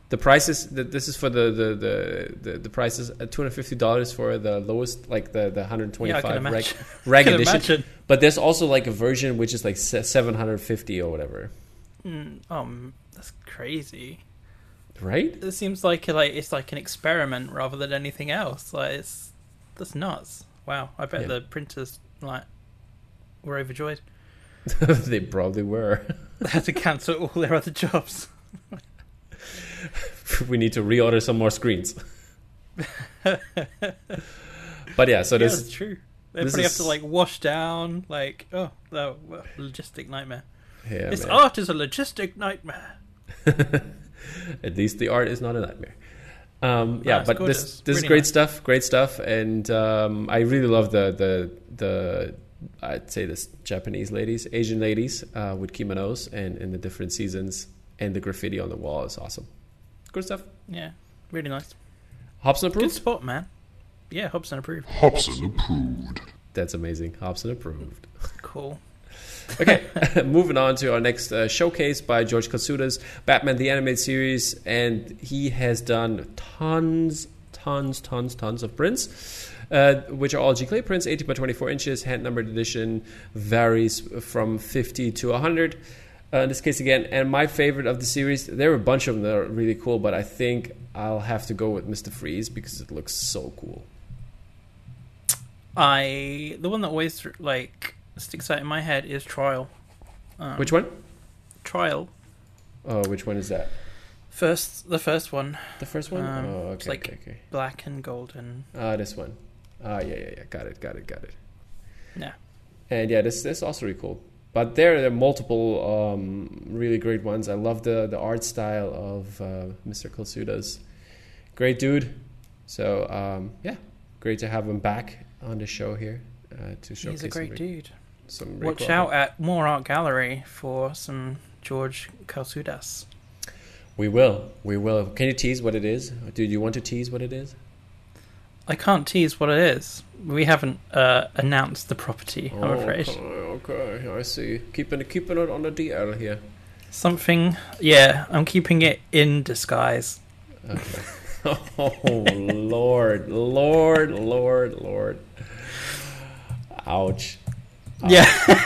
The price is the, this is for the the the the, the price is two hundred fifty dollars for the lowest, like the the one hundred twenty five yeah, reg, reg edition. Imagine. But there's also like a version which is like seven hundred fifty or whatever. Mm, um, that's crazy. Right? It seems like like it's like an experiment rather than anything else. Like it's that's nuts. Wow, I bet Yeah. the printers like were overjoyed. They probably were. They had to cancel all their other jobs. We need to reorder some more screens. But yeah, so Yeah, this that's true. They this probably is- have to like wash down. Like oh, oh well, logistic nightmare. yeah, this man. art is a logistic nightmare. At least the art is not a nightmare. Um, yeah, it's but gorgeous. this this is Really great nice. stuff, great stuff, and um, I really love the the the I'd say this Japanese ladies, Asian ladies uh, with kimonos and in the different seasons, and the graffiti on the wall is awesome. Good stuff. Yeah, really nice. Hobson Good approved. spot, man. Yeah, Hobson approved. Hobson approved. That's amazing. Hobson approved. Cool. Okay, moving on to our next uh, showcase by George Katsuda's Batman the Animated Series, and he has done tons, tons, tons, tons of prints, uh, which are all G-Clay prints, eighteen by twenty-four inches, hand-numbered edition, varies from fifty to one hundred. Uh, in this case again, and my favorite of the series, there are a bunch of them that are really cool, but I think I'll have to go with Mister Freeze because it looks so cool. I the one that always like sticks out in my head is Trial. Um, Which one? Trial. Oh, which one is that? First, the first one, The first one? Um, oh, okay, it's like- okay, okay. black and golden. Ah, this one. Ah, yeah, yeah, yeah. Got it, got it, got it. Yeah. And yeah, this this is also really cool. But there, there are multiple um, really great ones. I love the, the art style of uh, Mister Katsuda's. Great dude. So um, yeah, great to have him back on the show here uh, to showcase. He's a great some, dude. Some really Watch cool out art. at More Art Gallery for some George Kalsudas. We will, we will. Can you tease what it is? Do you want to tease what it is? I can't tease what it is. We haven't uh, announced the property, I'm afraid. Okay, okay, I see. Keeping it, keeping it on the D L here. Something, yeah, I'm keeping it in disguise. Okay. Oh Lord, Lord, Lord, Lord! Ouch! Yeah,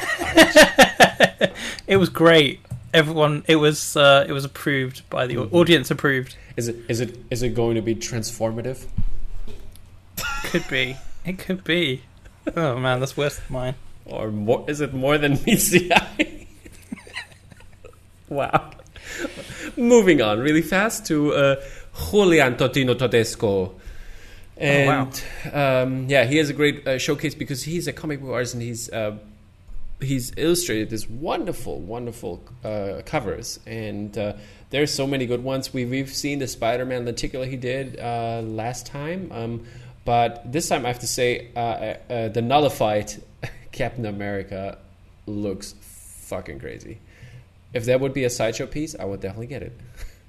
it was great. Everyone, it was uh, it was approved by the Mm-hmm. audience. Approved. Is it is it is it going to be transformative? Could be. It could be. Oh man, that's worse than mine. Or more, is it more than meets the eye? Wow. Moving on really fast to uh, Julian Totino Todesco. And um, yeah, he has a great uh, showcase because he's a comic book artist and he's uh, he's illustrated this wonderful, wonderful uh, covers. And uh, there's so many good ones. We've, we've seen the Spider-Man lenticular he did uh, last time. Um, but this time I have to say uh, uh, the nullified Captain America looks fucking crazy. If that would be a sideshow piece, I would definitely get it.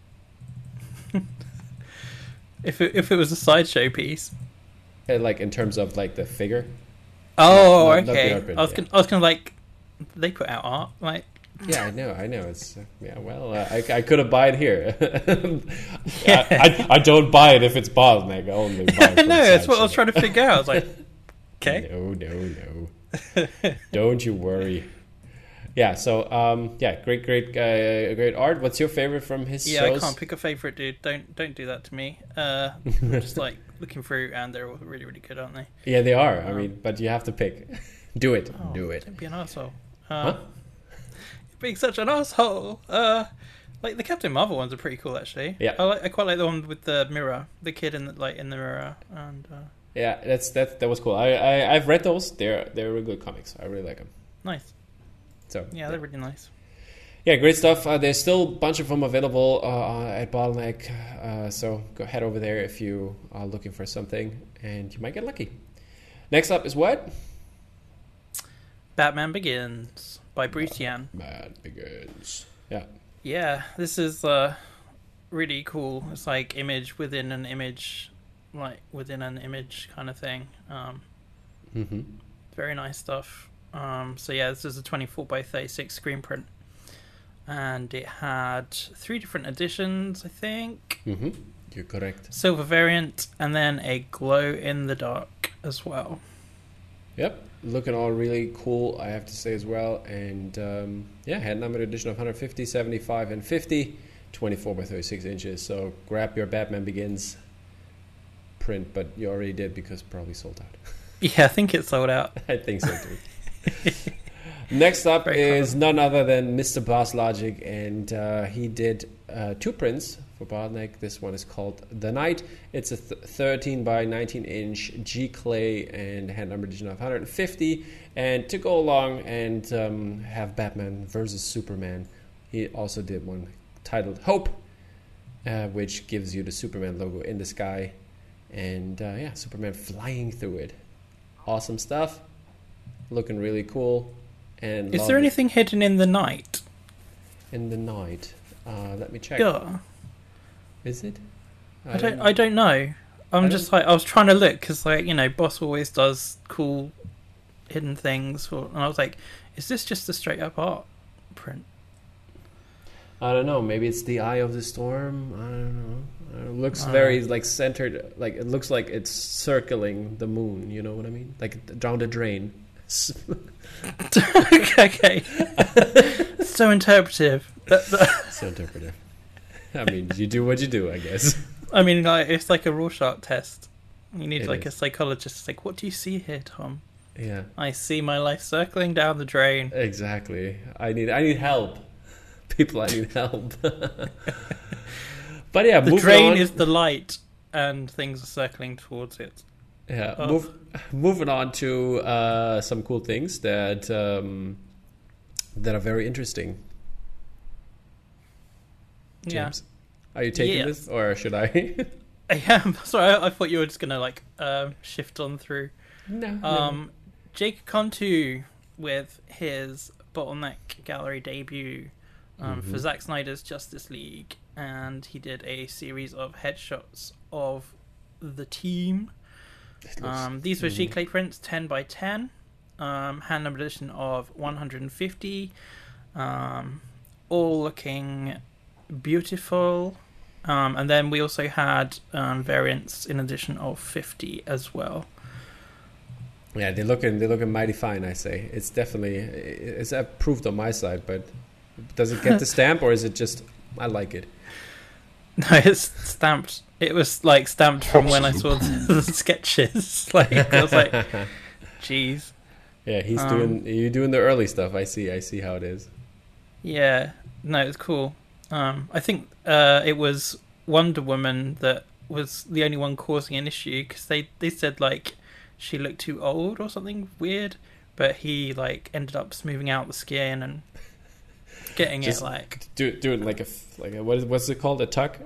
If it, if it was a sideshow piece. Uh, like in terms of like the figure. Oh, Not- not the okay. art print, I was yeah. gonna, I was gonna like, they put out art, like. Yeah, I know, I know. It's uh, yeah. Well, uh, I I could have buy it here. I, I I don't buy it if it's bottleneck. I only buy it. No, that's what I was trying to figure out. I was like, okay. No, no, no. Don't you worry. Yeah. So um, yeah, great, great, uh, great art. What's your favorite from his Yeah, shows? I can't pick a favorite, dude. Don't don't do that to me. Uh, I'm just like looking through, and they're all really really good, aren't they? Yeah, they are. I mean, but you have to pick. Do it. Oh, Do it. Don't be an asshole. Uh, Huh? You're being such an asshole. Uh, like the Captain Marvel ones are pretty cool, actually. Yeah. I like. I quite like the one with the mirror, the kid in the like in the mirror, and uh, Yeah, that's that. That was cool. I, I I've read those. They're they're really good comics. I really like them. nice. So Yeah, they're really nice. Yeah, great stuff. Uh, there's still a bunch of them available uh, at Bottleneck, uh, so go head over there if you are looking for something, and you might get lucky. Next up is what? Batman Begins by Bruce Yan. Mad Begins. Yeah. Yeah, this is uh, really cool. It's like image within an image, like within an image kind of thing. Um, Mm-hmm. very nice stuff. Um, so yeah, this is a twenty-four by thirty-six screen print, and it had three different editions, I think. Mm-hmm. You're correct. Silver variant, and then a glow in the dark as well. Yep, looking all really cool, I have to say as well. And um, yeah, hand numbered edition of one fifty, seventy-five, and fifty, twenty-four by thirty-six inches. So grab your Batman Begins print, but you already did because probably sold out. Yeah, I think it's sold out. I think so too. Next up Very is cool. none other than Mister Boss Logic, and uh, he did uh, two prints for Bottleneck. This one is called The Night. It's a th- thirteen by nineteen inch G clay and hand number edition of one fifty. And to go along and um, have Batman versus Superman, he also did one titled Hope, uh, which gives you the Superman logo in the sky, and uh, yeah, Superman flying through it. Awesome stuff. Looking really cool. And is there anything it. hidden in the night? In the night, uh, let me check. Yeah. Is it? I, I don't. I don't know. I'm I just like I was trying to look because, like, you know, Boss always does cool hidden things, for, and I was like, is this just a straight up art print? I don't know. Maybe it's the Eye of the Storm. I don't know. It looks I very know. like centered. Like it looks like it's circling the moon. You know what I mean? Like down the drain. Okay. So interpretive. So interpretive. I mean, you do what you do, I guess. I mean, like, it's like a Rorschach test. You need It like is. a psychologist. It's like, what do you see here, Tom? Yeah. I see my life circling down the drain. Exactly. I need. I need help. People, I need help. But yeah, the moving drain on. is the light, and things are circling towards it. Yeah, Oh. move, moving on to uh, some cool things that um, that are very interesting. James, Yeah. are you taking Yeah. this, or should I? I am. Sorry, I, I thought you were just gonna like um, shift on through. no. Um, Jake Contu with his Bottleneck Gallery debut um, Mm-hmm. for Zack Snyder's Justice League, and he did a series of headshots of the team. It looks- Um, these were Mhm. G clay prints, ten by ten, um, hand numbered edition of one fifty, um, all looking beautiful. Um, and then we also had um, variants in addition of fifty as well. Yeah, they're looking. They're looking mighty fine. I say it's definitely it's approved on my side, but does it get the stamp, or is it just I like it? No, it's stamped. It was like stamped from when I saw the, the sketches. Like I was like, "Jeez." Yeah, he's Um, doing. You're doing the early stuff. I see. I see how it is. Yeah, no, it's cool. Um, I think uh, it was Wonder Woman that was the only one causing an issue because they, they said like she looked too old or something weird, but he like ended up smoothing out the skin and getting Just it like do doing like a like a, what is what's it called, a tuck?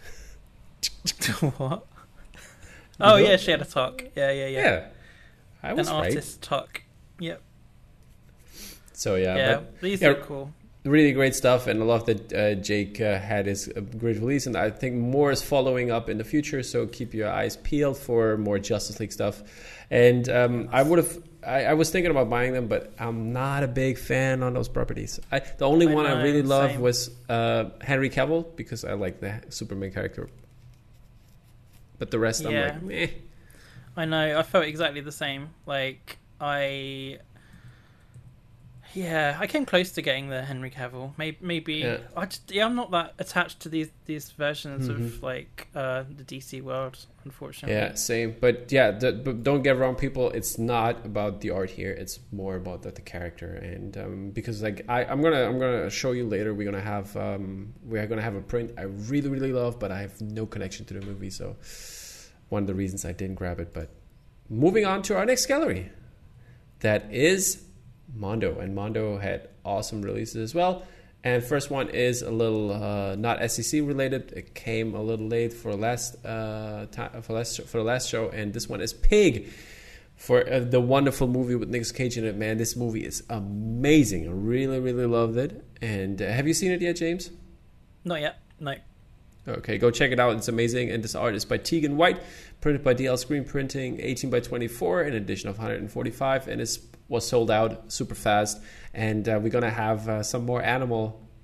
what? Oh know? yeah, she had a tuck. Yeah, yeah, yeah. Yeah, I was An right. artist tuck. Yep. So yeah, Yeah, but these yeah, are cool. really great stuff, and I love that uh, Jake uh, had his uh, great release, and I think more is following up in the future. So keep your eyes peeled for more Justice League stuff. And um, I would have, I, I was thinking about buying them, but I'm not a big fan on those properties. I, the only I one know, I really loved same. was uh, Henry Cavill because I like the Superman character. But the rest, Yeah. I'm like, meh. I know. I felt exactly the same. Like I, yeah, I came close to getting the Henry Cavill. Maybe, maybe Yeah. I just, yeah, I'm not that attached to these these versions Mhm. of like uh, the D C world, unfortunately. Yeah, same. But yeah, the, but don't get wrong, people. It's not about the art here. It's more about the, the character, and um, because like I, I'm gonna I'm gonna show you later. We're gonna have um, we're gonna have a print I really really love, but I have no connection to the movie, so one of the reasons I didn't grab it. But moving on to our next gallery, that is Mondo, and Mondo had awesome releases as well. And first one is a little uh, not S E C related. It came a little late for last uh, time for last for the last show, and this one is Pig, for uh, the wonderful movie with Nicolas Cage in it. Man, this movie is amazing. I really really loved it. And uh, have you seen it yet, James? Not yet. No. Okay, go check it out. It's amazing. And this art is by Tegan White, printed by D L Screen Printing, eighteen by twenty-four, an edition of one forty-five, and it was sold out super fast. And uh, we're gonna have uh, some more animal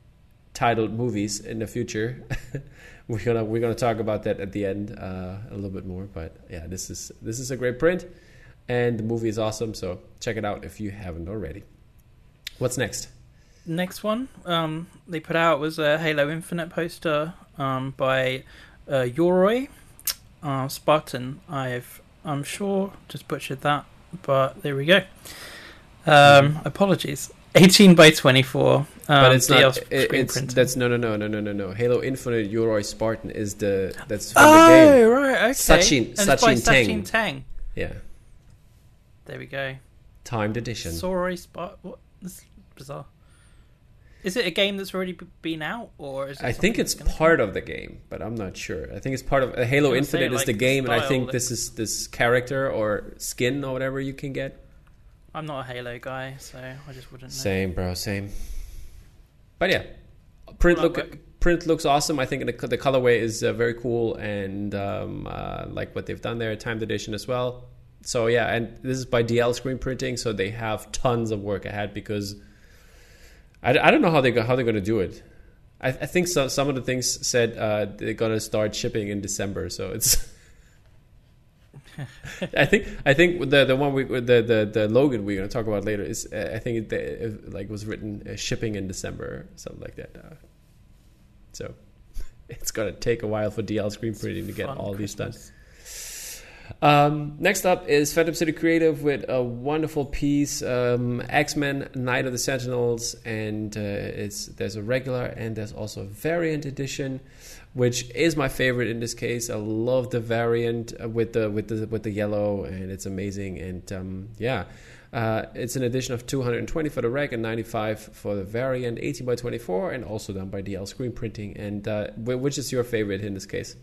titled movies in the future. we're gonna we're gonna talk about that at the end uh, a little bit more. But yeah, this is this is a great print, and the movie is awesome. So check it out if you haven't already. What's next? Next one um, they put out was a Halo Infinite poster um, by uh, Yoroi uh, Spartan. I've I'm sure just butchered that, but there we go. Um, mm. Apologies. eighteen by twenty-four. Um, but it's not. It, it's printing. That's no no no no no no no. Halo Infinite Yoroi Spartan is the that's from oh, the game. Oh right, okay. Sachin and Sachin it's by Teng. Sachin Teng. Yeah. There we go. Timed edition. Soroi Spartan. What? This is bizarre. Is it a game that's already been out, or is it I think it's part of the game, but I'm not sure. I think it's part of uh, Halo Infinite say, is like, the game, the and I think like... this is this character or skin or whatever you can get. I'm not a Halo guy, so I just wouldn't know. Same, bro, same. But yeah, print look work. print looks awesome. I think the the colorway is uh, very cool, and um, uh, like what they've done there, timed edition as well. So yeah, and this is by D L Screen Printing, so they have tons of work ahead because. I, I don't know how they go, how they're going to do it. I, I think some some of the things said uh, they're going to start shipping in December. So it's. I think I think the the one we the the, the Logan we're going to talk about later is uh, I think it, it like was written uh, shipping in December, something like that. Uh, so it's going to take a while for D L Screen Printing to get all Christmas. These done. Um, next up is Phantom City Creative with a wonderful piece, um, X-Men Night of the Sentinels, and uh, it's there's a regular and there's also a variant edition, which is my favorite in this case. I love the variant with the with the with the yellow, and it's amazing. And um, yeah, uh, it's an edition of two hundred twenty for the reg and ninety-five for the variant, eighteen by twenty-four, and also done by D L Screen Printing. And uh, which is your favorite in this case?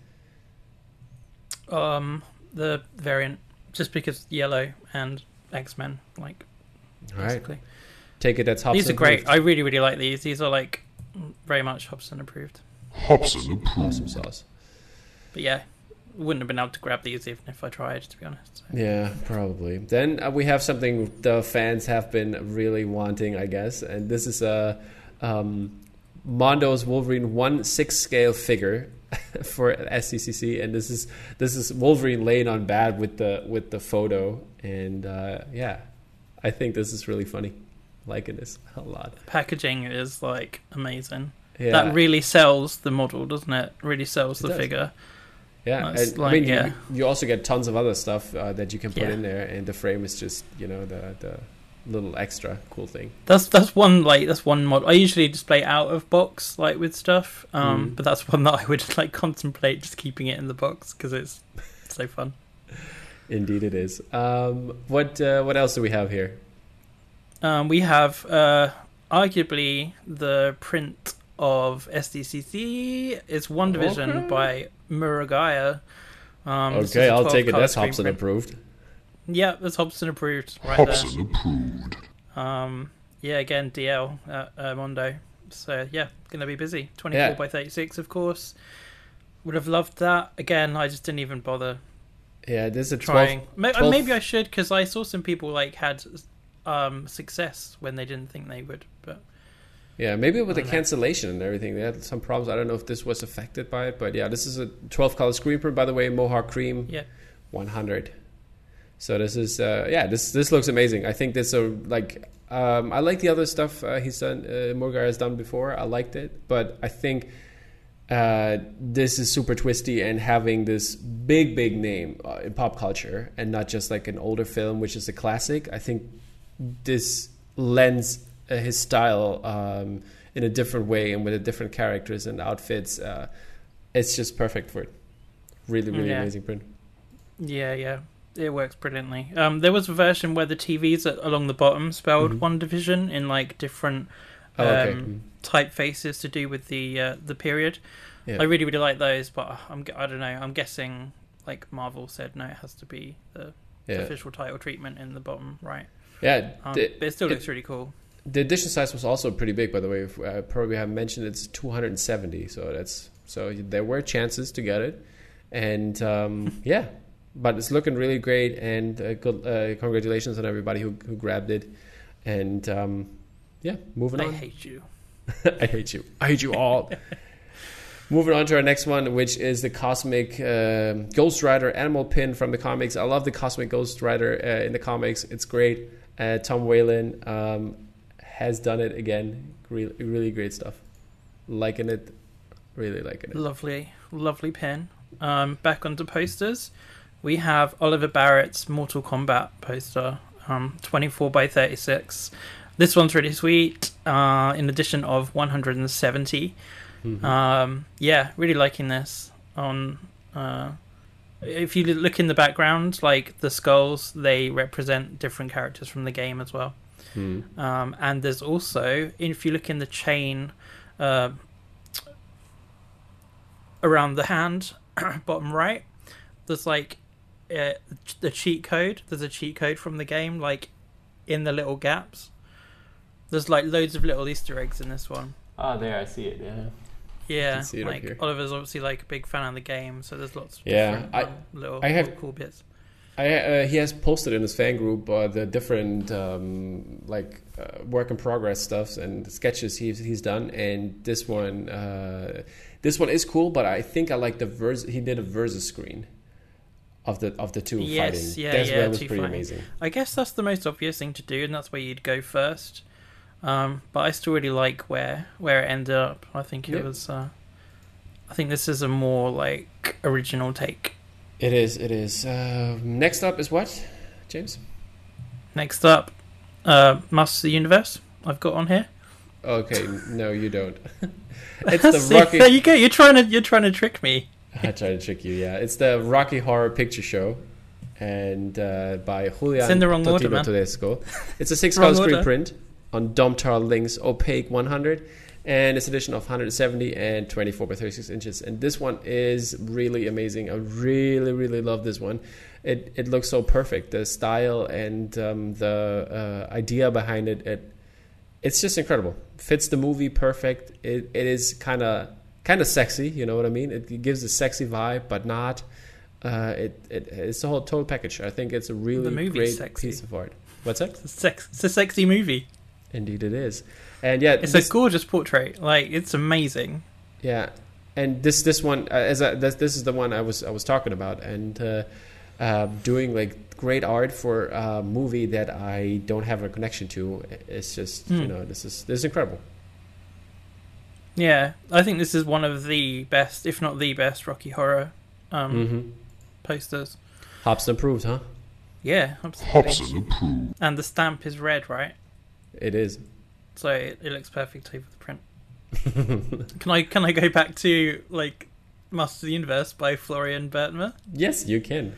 Um. The variant, just because yellow and X-Men, like, all basically. Right. Take it that's Hobson. These are great. Approved. I really, really like these. These are like very much Hobson approved. Hobson approved. Awesome sauce. But yeah, wouldn't have been able to grab these even if I tried, to be honest. So. Yeah, probably. Then uh, we have something the fans have been really wanting, I guess, and this is a um, Mondo's Wolverine one six scale figure. For S C C C, and this is this is Wolverine laying on bad with the with the photo, and uh, yeah, I think this is really funny. Liking this a lot. Packaging is like amazing. Yeah. That really sells the model, doesn't it? Really sells the it figure. Yeah, and, like, I mean, yeah. You, you also get tons of other stuff uh, that you can put yeah. in there, and the frame is just you know the the. little extra cool thing. That's that's one like that's one mod. I usually display out of box like with stuff, um, mm. but that's one that I would like contemplate just keeping it in the box because it's so fun. Indeed, it is. Um, what uh, what else do we have here? Um, we have uh, arguably the print of S D C C. It's One Division okay. by Muragaya. Um, okay, I'll take it. That's Hobson print. Approved. Yeah, that's Hobson approved. Right Hobson there. approved. Um, yeah, again, D L at uh, Mondo. So yeah, gonna be busy. twenty-four yeah. by thirty-six, of course. Would have loved that. Again, I just didn't even bother. Yeah, this is a trying. twelve, twelve... Maybe I should because I saw some people like had um, success when they didn't think they would. But yeah, maybe with the know. cancellation and everything, they had some problems. I don't know if this was affected by it, but yeah, this is a twelve color screen print, by the way. Mohawk Cream. Yeah. one hundred. So this is uh, yeah this this looks amazing. I think this are like um, I like the other stuff uh, he's done uh, Muragaya has done before. I liked it, but I think uh, this is super twisty and having this big big name uh, in pop culture and not just like an older film which is a classic. I think this lends uh, his style um, in a different way and with a different characters and outfits. Uh, it's just perfect for it. Really really yeah. amazing print. Yeah yeah. It works brilliantly. Um, there was a version where the T Vs along the bottom spelled mm-hmm. One Division in like different um, oh, okay. mm-hmm. typefaces to do with the uh, the period. Yeah. I really really like those, but I'm I don't know. I'm guessing like Marvel said no, it has to be the yeah. official title treatment in the bottom right. Yeah, um, the, but it still looks it, really cool. The edition size was also pretty big, by the way. If, uh, probably haven't mentioned it's two hundred seventy, so that's so there were chances to get it, and um, yeah. But it's looking really great, and uh, good, uh, congratulations on everybody who who grabbed it. And um, yeah, moving I on. I hate you. I hate you. I hate you all. Moving on to our next one, which is the Cosmic uh, Ghost Rider animal pin from the comics. I love the Cosmic Ghost Rider uh, in the comics. It's great. Uh, Tom Whalen um, has done it again. Really, really great stuff. Liking it. Really liking it. Lovely, lovely pin. Um, back onto posters. We have Oliver Barrett's Mortal Kombat poster, um, twenty-four by thirty-six. This one's really sweet. Uh, in addition of one hundred seventy. Mm-hmm. Um, yeah, really liking this. On uh, if you look in the background, like the skulls, they represent different characters from the game as well. Mm. Um, and there's also, if you look in the chain uh, around the hand, bottom right, there's like uh, the cheat code. There's a cheat code from the game, like in the little gaps. There's like loads of little Easter eggs in this one. Oh, there, I see it. Yeah. Yeah, like Oliver's obviously like a big fan of the game, so there's lots of yeah, I, um, little, I have, little cool bits. I uh, he has posted in his fan group uh, the different um, like uh, work in progress stuffs and sketches he's he's done, and this one uh, this one is cool, but I think I like the verse. He did a versus screen of the of the two yes, fighting. Yeah, that's yeah, where it was pretty fighting. amazing. I guess that's the most obvious thing to do, and that's where you'd go first. Um, but I still really like where where it ended up. I think it yeah. was. Uh, I think this is a more like original take. It is. It is. Uh, next up is what, James? Next up, uh, Masters of the Universe. I've got on here. Okay, no, you don't. It's the See, Rocky. There you go. You're trying to you're trying to trick me. I try to trick you. Yeah, it's the Rocky Horror Picture Show, and uh, by Julian it's in the wrong Totino order, man. Tedesco. It's a six-color screen print on Domtar Link's opaque one hundred, and it's edition of one hundred seventy and twenty-four by thirty-six inches. And this one is really amazing. I really, really love this one. It it looks so perfect. The style and um, the uh, idea behind it, it it's just incredible. Fits the movie perfect. It it is kind of kind of sexy. You know what I mean? It, it gives a sexy vibe, but not. Uh, it, it it's a whole total package. I think it's a really great sexy. piece of art. What's that? It's a, sex, it's a sexy movie. Indeed, it is. And yeah, it's this, a gorgeous portrait. Like it's amazing. Yeah, and this this one uh, as I, this, this is the one I was I was talking about, and uh, uh, doing like great art for a movie that I don't have a connection to. It's just mm. you know this is this is incredible. Yeah, I think this is one of the best, if not the best, Rocky Horror um, mm-hmm. posters. Hobson approved, huh? Yeah, Hobson approved. And the stamp is red, right? It is. So it, it looks perfectly for the print. Can I can I go back to like Masters of the Universe by Florian Bertmer? Yes, you can.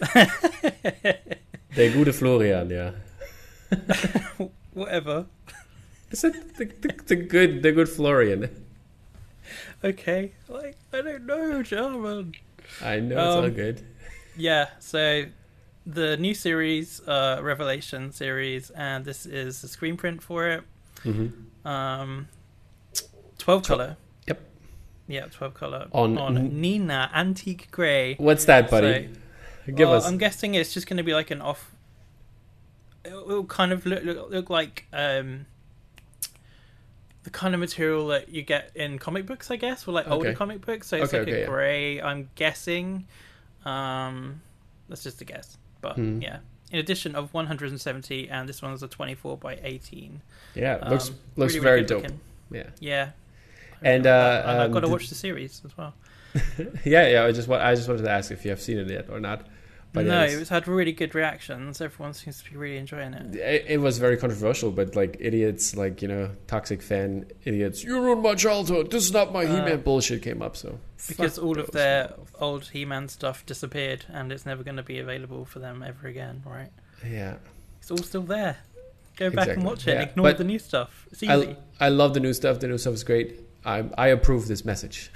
Der gute Florian, yeah. Whatever. Is it the, the, the good the good Florian? Okay, like I don't know German. I know it's um, all good. Yeah, so the new series, uh, Revelation series, and this is the screen print for it. Mm-hmm. Um, twelve color. Yep. Yeah, twelve color on, on n- Nina Antique Grey. What's that, buddy? So, Give well, us. I'm guessing it's just going to be like an off. It'll, it'll kind of look look, look like um, the kind of material that you get in comic books, I guess, or like older okay. comic books. So it's okay, like okay, a yeah. grey. I'm guessing. Um, that's just a guess, but hmm. yeah. In addition of one hundred seventy, and this one's a twenty-four by eighteen. Yeah, um, looks looks really, very really dope. looking. Yeah, yeah. And, uh, and I've um, got to the, watch the series as well. yeah, yeah. I just want, I just wanted to ask if you have seen it yet or not. But no, yeah, it's had really good reactions. Everyone seems to be really enjoying it. it. It was very controversial, but like idiots, like you know, toxic fan idiots. You ruined my childhood. This is not my uh, He-Man bullshit came up. So because all of their old He-Man stuff disappeared, and it's never going to be available for them ever again, right? Yeah, it's all still there. Go exactly. back and watch it. Yeah. And ignore but the new stuff. It's easy. I, I love the new stuff. The new stuff is great. I I approve this message.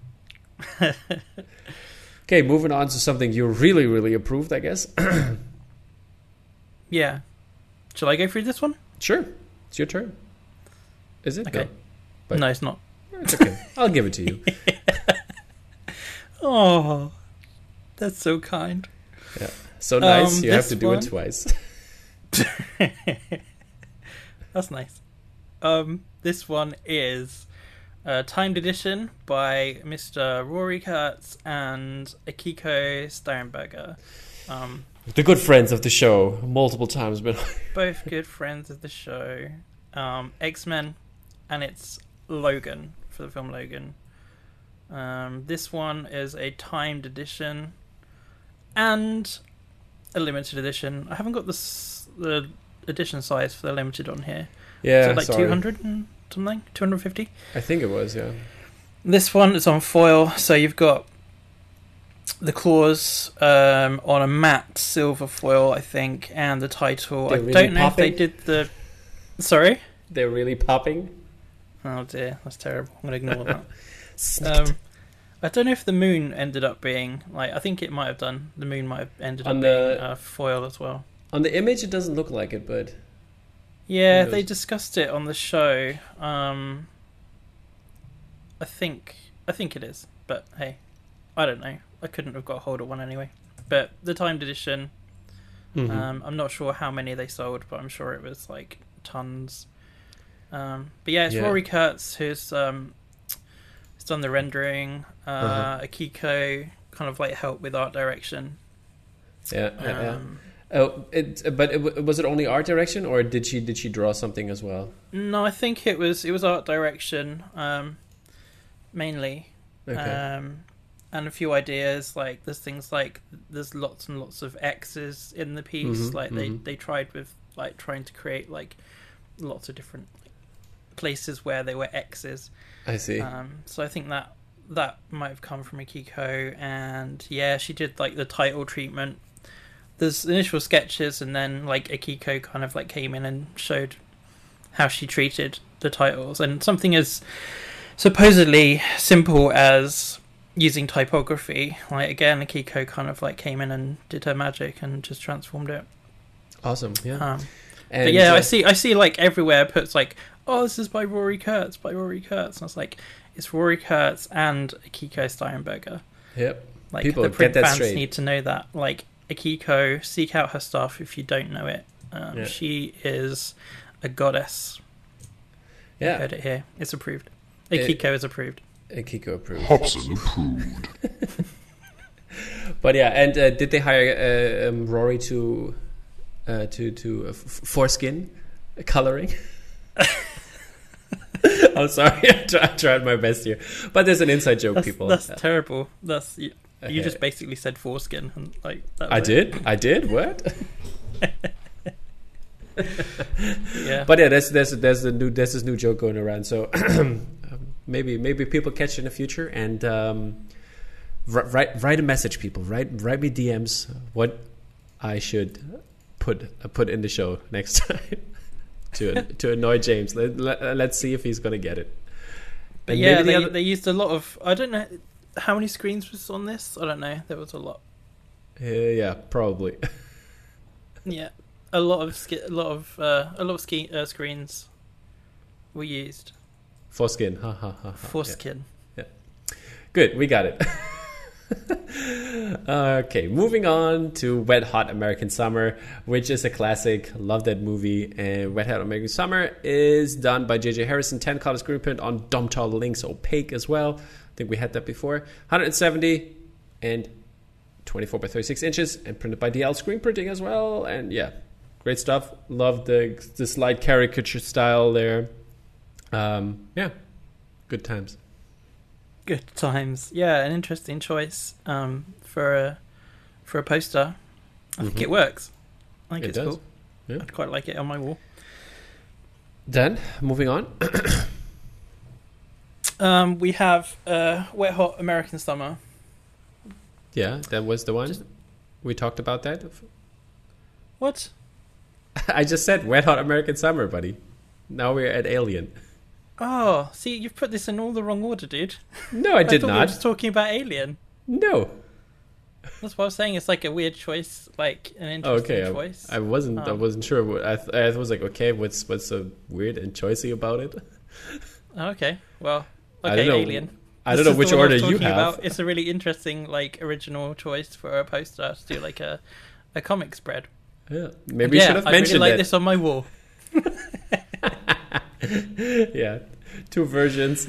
Okay, moving on to something you really, really approved, I guess. Yeah. Shall I go through this one? Sure. It's your turn. Is it? Okay. No, but no it's not. It's okay. I'll give it to you. Oh, that's so kind. Yeah. So nice. Um, you have to do one... it twice. That's nice. Um, this one is a timed edition by Mister Rory Kurtz and Akiko Steinberger. Um, the good friends of the show, multiple times, but both good friends of the show. Um, X-Men, and it's Logan for the film Logan. Um, this one is a timed edition and a limited edition. I haven't got the s- the edition size for the limited on here. yeah, Is it like sorry. two hundred and something? two hundred fifty? I think it was, yeah. This one is on foil, so you've got the claws um, on a matte silver foil, I think, and the title. They're I really don't know popping? if they did the... Sorry? They're really popping. Oh dear, that's terrible. I'm going to ignore that. Um, I don't know if the moon ended up being... like I think it might have done. The moon might have ended On up the- being uh, foil as well. On the image, it doesn't look like it, but Yeah, Who they knows? discussed it on the show. Um, I think I think it is, but hey, I don't know. I couldn't have got hold of one anyway. But the timed edition, Mhm. um, I'm not sure how many they sold, but I'm sure it was like tons. Um, but yeah, it's Yeah. Rory Kurtz who's um, who's done the rendering. Uh, Uh-huh. Akiko kind of like helped with art direction. yeah, yeah, yeah. Um, Oh, it, but it, w- was it only art direction, or did she did she draw something as well? No, I think it was it was art direction um, mainly. Okay. Um, and a few ideas, like there's things like there's lots and lots of X's in the piece. Mhm, like mhm. they, they tried with like trying to create like lots of different places where there were X's. I see. Um, so I think that that might have come from Akiko, and yeah, she did like the title treatment. There's initial sketches, and then like Akiko kind of like came in and showed how she treated the titles, and something as supposedly simple as using typography. Like again, Akiko kind of like came in and did her magic and just transformed it. Awesome. Yeah. Um, and, but yeah, uh, I see. I see like everywhere it puts like, oh, this is by Rory Kurtz, by Rory Kurtz, and I was like, it's Rory Kurtz and Akiko Steinberger. Yep. Like People, the get print that fans straight. need to know that. Like Akiko, seek out her stuff if you don't know it. Um, Yeah. She is a goddess. I Yeah. heard it here. It's approved. It- Akiko is approved. Kiko approved. Hobson approved. But yeah, and uh, did they hire uh, um, Rory to uh, to to uh, f- foreskin coloring? I'm sorry, I, try, I tried my best here, but there's an inside joke, That's, people. that's Uh, terrible. That's you, you Okay. just basically said foreskin and like that I was it. did, I did. What? Yeah. But yeah, there's there's there's a new there's this new joke going around. So um, maybe maybe people catch it in the future and um, wri- write write a message, people. Write write me D Ms what I should put uh, put in the show next time to to annoy James. Let, let, let's see if he's gonna get it. But And yeah, maybe the they, other- they used a lot of. I don't know how many screens was on this. I don't know. There was a lot. Uh, yeah, probably. Yeah, a lot of ski- a lot of uh, a lot of ski- uh, screens were used. Foreskin. Ha ha ha. ha. Yeah. Foreskin. Good, we got it. Okay, moving on to Wet Hot American Summer, which is a classic. Love that movie. And Wet Hot American Summer is done by J J Harrison, ten color screen print on Domtal Links Opaque as well. I think we had that before. one hundred seventy and twenty-four by thirty-six inches, and printed by D L Screen Printing as well. And yeah, great stuff. Love the the slight caricature style there. Um, yeah, good times. Good times. Yeah, an interesting choice um, for a for a poster. I think Mhm. it works. I think It it's does. cool. Yeah. I'd quite like it on my wall. Then moving on. Um, we have uh, Wet Hot American Summer. Yeah, that was the one. Just- We talked about that. What? I just said Wet Hot American Summer, buddy. Now we're at Alien. Oh, see, you've put this in all the wrong order, dude. No, I did thought we were not. just talking about Alien. No. That's what I was saying. It's like a weird choice, like an Oh, interesting okay. choice. I, I wasn't. I Um, wasn't sure. What, I, th- I was like, okay, what's what's so weird and choicy about it? Oh, okay, well, I okay, don't know. Alien. I This don't know is the which one I order was you talking have. about. It's a really interesting, like, original choice for a poster to do like a, a comic spread. Yeah, maybe yeah, you should have I mentioned really like it. this on my wall. Yeah, two versions.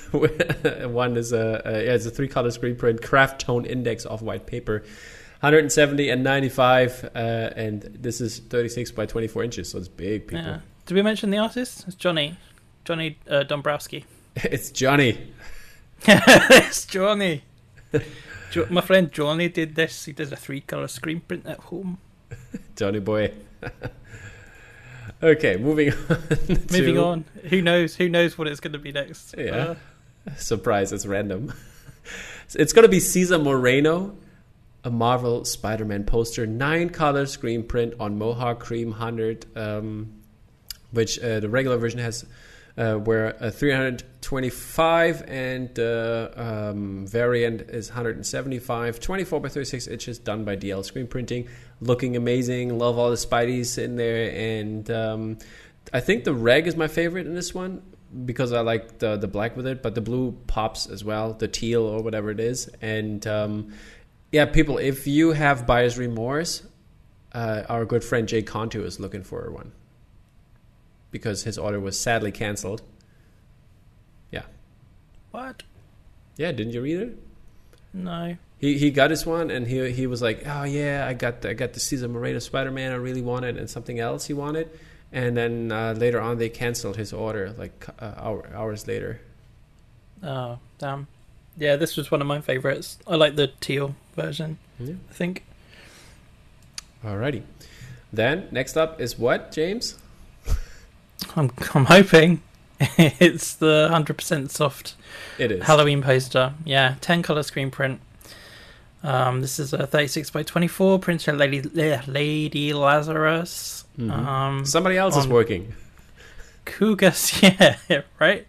One is a, a yeah, it's a three color screen print, craft tone index off white paper, one hundred seventy and ninety-five, uh, and this is thirty-six by twenty-four inches, so it's big, people. Yeah. Did we mention the artist? It's Johnny, Johnny uh, Dombrowski. It's Johnny. It's Johnny. Jo- my friend Johnny did this. He did a three color screen print at home. Johnny boy. Okay, moving on. to, Moving on. Who knows? Who knows what it's going to be next? Yeah. Uh, Surprise, it's random. It's going to be Cesar Moreno, a Marvel Spider-Man poster, nine color screen print on Mohawk Cream one hundred, um, which uh, the regular version has uh, where uh, three hundred twenty-five and the uh, um, variant is one hundred seventy-five, twenty-four by thirty-six inches, done by D L Screen Printing. Looking amazing. Love all the Spideys in there. And um, I think the reg is my favorite in this one because I like the, the black with it, but the blue pops as well, the teal or whatever it is. And um, yeah, people, if you have buyer's remorse, uh, our good friend Jay Contu is looking for one because his order was sadly canceled. Yeah. what? Yeah, didn't you read it? No. He he got his one, and he he was like, oh yeah, I got the, I got the Cesar Moreno Spider-Man I really wanted, and something else he wanted, and then uh, later on they canceled his order like uh, hour, hours later. Oh, damn. Yeah, this was one of my favorites. I like the teal version, Yeah. I think. Alrighty, then next up is what, James? I'm I'm hoping it's the one hundred percent soft It is Halloween poster. Yeah, ten color screen print. Um, this is a thirty-six by twenty-four, printed Lady Lady Lazarus. Mhm. Um, Somebody else is on working. Kugas, yeah, right.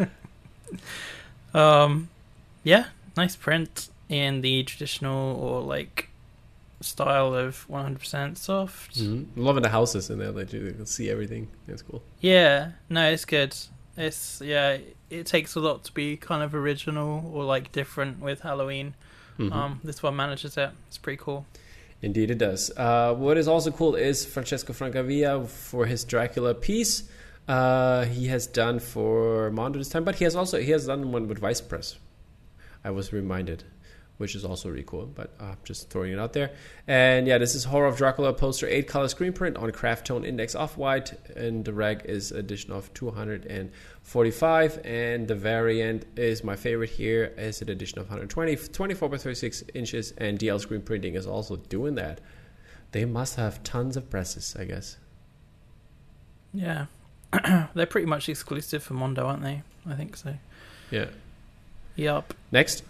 um, yeah, nice print in the traditional or like style of one hundred percent soft. Mhm. Loving the houses in there that you can see everything. That's cool. Yeah, no, it's good. It's yeah, it takes a lot to be kind of original or like different with Halloween. Mhm. Um, this one manages it. It's pretty cool. Indeed it does. Uh, what is also cool is Francesco Francavilla for his Dracula piece. Uh, he has done for Mondo this time, but he has also he has done one with Vice Press. I was reminded, which is also really cool, but uh, just throwing it out there. And yeah, this is Horror of Dracula poster, eight color screen print on craft tone index off-white, and the reg is edition of two hundred forty-five, and the variant is my favorite here, is an edition of one hundred twenty, twenty-four by thirty-six inches, and D L Screen Printing is also doing that. They must have tons of presses, I guess. Yeah, they're pretty much exclusive for Mondo, aren't they? I think so. Yeah. Yup. Next.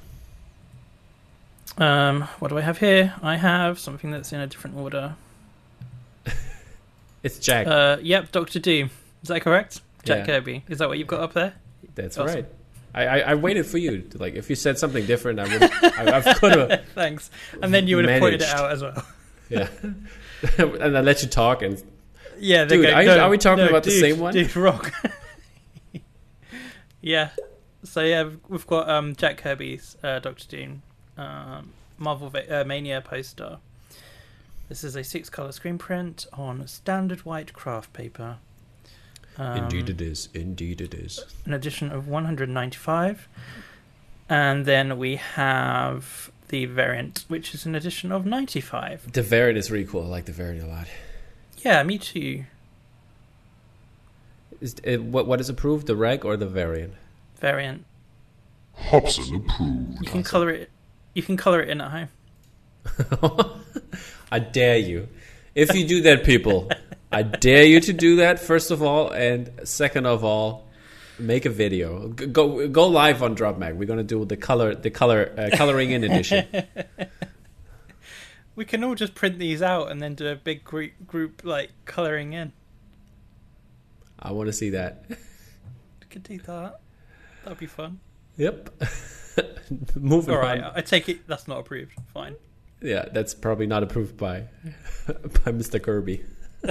Um, what do I have here? I have something that's in a different order. It's Jack. Uh, yep, Doctor Doom. Is that correct? Jack Yeah. Kirby. Is that what you've got up there? That's awesome. right. I, I, I waited for you. To, like, if you said something different, I would. I, I could have. Thanks. And then you would have pointed it managed. out as well. Yeah. And I let you talk, and Yeah, they're Dude, going, are you- no, are we talking no, about the dude, same one? Dude, wrong. Yeah. So yeah, we've got um, Jack Kirby's uh, Doctor Doom um, Marvel Va- uh, Mania poster. This is a six-color screen print on standard white craft paper. Um, indeed it is. Indeed it is. An edition of one hundred ninety-five, and then we have the variant, which is an edition of ninety-five. The variant is really cool. I like the variant a lot. Yeah, me too. Is it, what what is approved? The reg or the variant? Variant. Hobson approved. You can color it. You can color it in at home. I dare you. If you do that, people, I dare you to do that, first of all, and second of all, make a video. G- Go go live on DropMag. We're gonna do the color the color uh, coloring in edition. We can all just print these out and then do a big group group like coloring in. I want to see that. We could do that. That'd be fun. Yep. Moving All right, on. I take it that's not approved. Fine. Yeah, that's probably not approved by by Mister Kirby.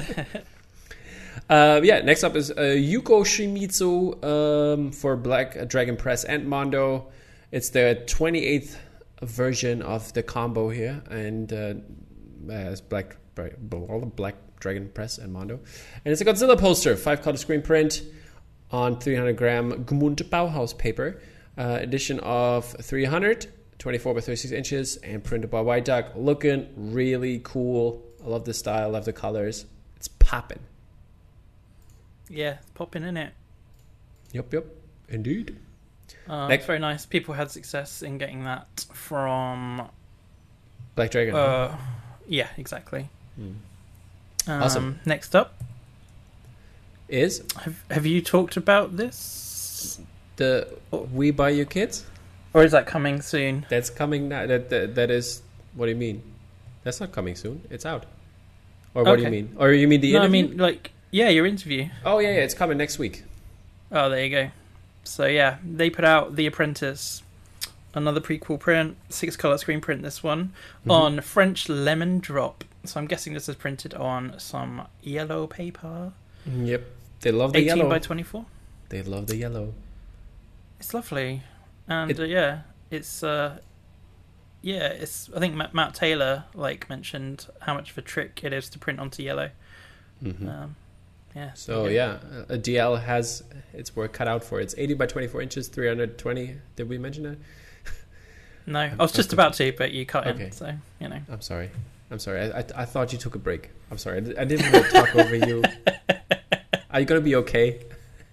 uh, yeah, next up is uh, Yuko Shimizu um, for Black Dragon Press and Mondo. It's the twenty-eighth version of the combo here, and uh, as Black Black Dragon Press and Mondo, and it's a Godzilla poster, five color screen print on three hundred gram Gmund Bauhaus paper, uh, edition of three hundred, twenty-four by thirty-six inches, and printed by White Duck. Looking really cool. I love the style, I love the colors. It's popping. Yeah, it's popping in it. Yep, yep, indeed. Uh, Next- it's very nice. People had success in getting that from. Black Dragon. Uh, yeah, exactly. Hmm. Um, Awesome. Next up, Is have have you talked about this, the We Buy You Kids? or is that coming soon? That's coming now. That, that, that is, what do you mean? That's not coming soon. It's out. Or what do you Okay. mean? Or you mean the No, I interview? mean like yeah, your interview. Oh, yeah, yeah, it's coming next week. Oh, there you go. So yeah, they put out The Apprentice, another prequel print, six color screen print. This one Mhm. on French lemon drop. So I'm guessing this is printed on some yellow paper. Yep. They love the eighteen yellow. by twenty-four. They love the yellow. It's lovely, and It- uh, yeah, it's uh, yeah, it's. I think Matt, Matt Taylor like mentioned how much of a trick it is to print onto yellow. Hmm. Um, yeah. So yeah, a D L has its work cut out for it. It's eighty by twenty-four inches, three hundred twenty. Did we mention that? No, I was just about to, but you cut Okay. in, so you know. I'm sorry. I'm sorry. I, I, I thought you took a break. I'm sorry. I, di- I didn't want to talk over you. Are you gonna be okay?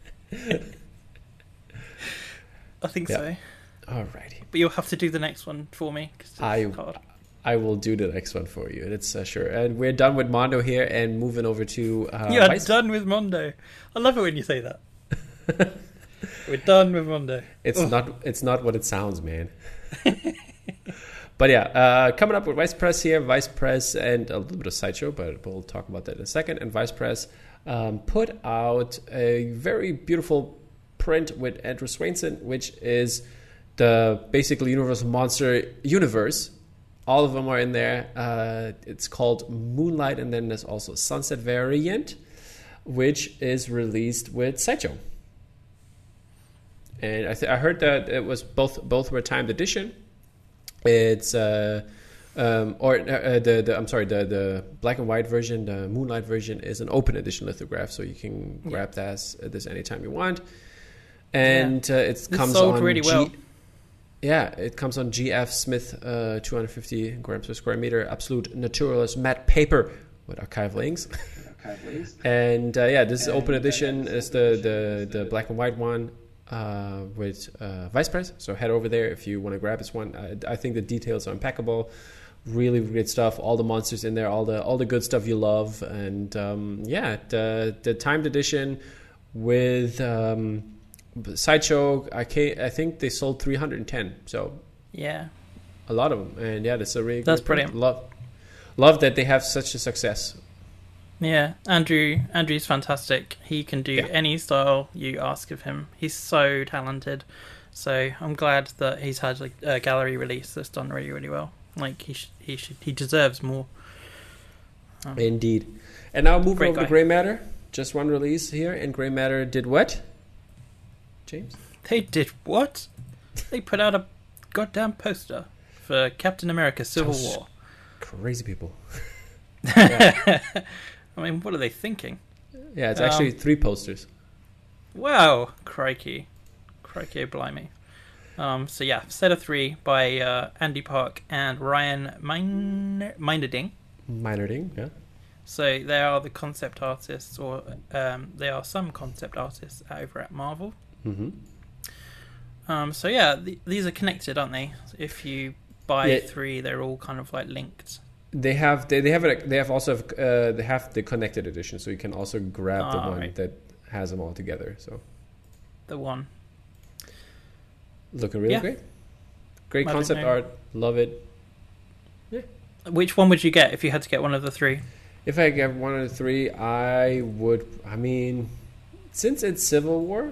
I think Yeah. so, Alrighty. but you'll have to do the next one for me. 'Cause it's I- hard. I will do the next one for you. It's uh, sure. And we're done with Mondo here and moving over to uh, You're Vice- done with Mondo. I love it when you say that. We're done with Mondo. It's Ugh. not. It's not what it sounds, man. But yeah, uh, coming up with Vice Press here, Vice Press and a little bit of Sideshow, but we'll talk about that in a second. And Vice Press um, put out a very beautiful print with Andrew Swainson, which is the basically Universal Monster universe. All of them are in there. Uh, it's called Moonlight, and then there's also Sunset Variant, which is released with Sideshow. And I, th- I heard that it was both both were timed edition. It's uh, um, or uh, the the I'm sorry the the black and white version, the Moonlight version is an open edition lithograph, so you can Yeah. grab that at this anytime you want. And uh, it This comes sold on really G- well. Yeah, it comes on G F Smith, uh, two hundred fifty grams per square meter, absolute naturalist matte paper with archival inks. And uh, yeah, this is open edition. It's the, the, the black and white one uh, with uh, Vice Press. So head over there if you want to grab this one. I, I think the details are impeccable. Really great stuff. All the monsters in there, all the all the good stuff you love. And um, yeah, the the timed edition with um, Sideshow. I ca- I think they sold three hundred ten. So Yeah. a lot of them. And yeah, that's a really That's good print. brilliant. Love love that they have such a success. Yeah, Andrew. Andrew's fantastic. He can do Yeah. any style you ask of him. He's so talented. So I'm glad that he's had like a gallery release that's done really, really well. Like he, sh- he should, he deserves more. Um, Indeed. And now moving Great over to guy. Grey Matter. Just one release here, and Grey Matter did what? James? They did what? They put out a goddamn poster for Captain America: Civil Those War. Crazy people. I mean, what are they thinking? Yeah, it's Um, actually three posters. Wow, crikey, crikey, blimey. Um, so yeah, set of three by uh, Andy Park and Ryan Min- Minderding. Minor ding, yeah. So they are the concept artists, or um, they are some concept artists over at Marvel. Mm-hmm. Um, so yeah, th- these are connected, aren't they? If you buy Yeah. three, they're all kind of like linked. They have they, they have it they have also uh, they have the connected edition, so you can also grab the Ah, one right. that has them all together. So The one. looking really Yeah. great. Great I don't concept know. art, love it. Which one would you get if you had to get one of the three? If I get one of the three, I would. I mean, since it's Civil War,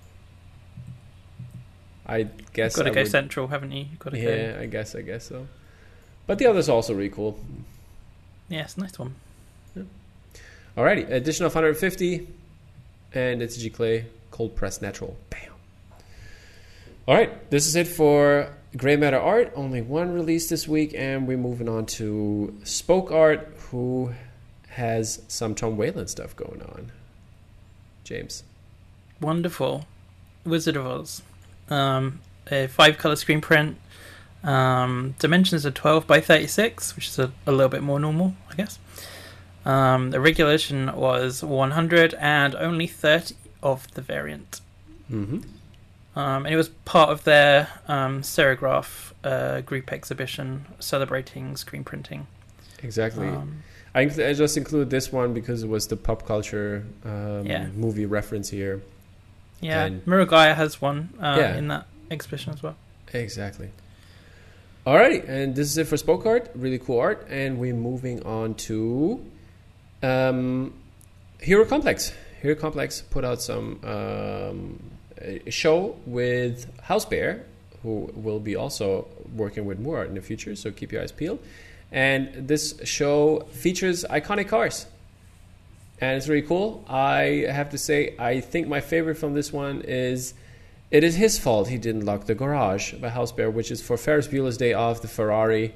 I guess Got to I go would, central, haven't you? Got to go. Yeah, I guess I guess so. But the others are also really cool. Yes, nice one. Alrighty, edition of one hundred fifty, and it's G Clay cold pressed natural. Bam. All right, this is it for Grey Matter Art. Only one release this week, and we're moving on to Spoke Art, who has some Tom Whalen stuff going on. James. wonderful Wizard of Oz. Um, a five-color screen print. Um, dimensions are twelve by thirty-six, which is a, a little bit more normal, I guess. Um, the regulation was one hundred and only thirty of the variant. Mm-hmm. Um, and it was part of their um, Serigraph uh, group exhibition celebrating screen printing. Exactly. Um, I, I just include this one because it was the pop culture um, Yeah. movie reference here. yeah, And- Miragaya has one uh, Yeah. in that exhibition as well. Exactly. Alrighty, and this is it for Spoke Art. Really cool art. And we're moving on to um, Hero Complex. Hero Complex put out some um, a show with House Bear, who will be also working with more art in the future, so keep your eyes peeled. And this show features iconic cars. And it's really cool. I have to say, I think my favorite from this one is It Is His Fault He Didn't Lock the Garage by House Bear, which is for Ferris Bueller's Day Off, the Ferrari.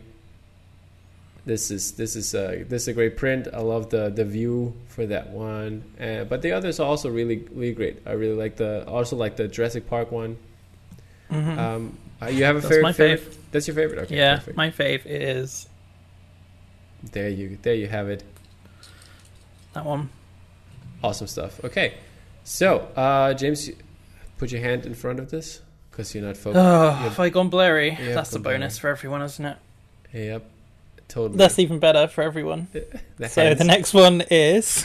This is this is a this is a great print. I love the the view for that one, uh, but the others are also really really great. I really like the also like the Jurassic Park one. Mm-hmm. Um, uh, you have a That's favorite? my favorite? fave. That's your favorite. Okay, yeah, perfect. my fave is There you there you have it. that one. Awesome stuff. Okay, so uh, James, put your hand in front of this because you're not focused. Oh, You're- have I gone blurry? Yeah, That's a gone blurry. bonus for everyone, isn't it? Yep, totally. That's even better for everyone. The So hands. the next one is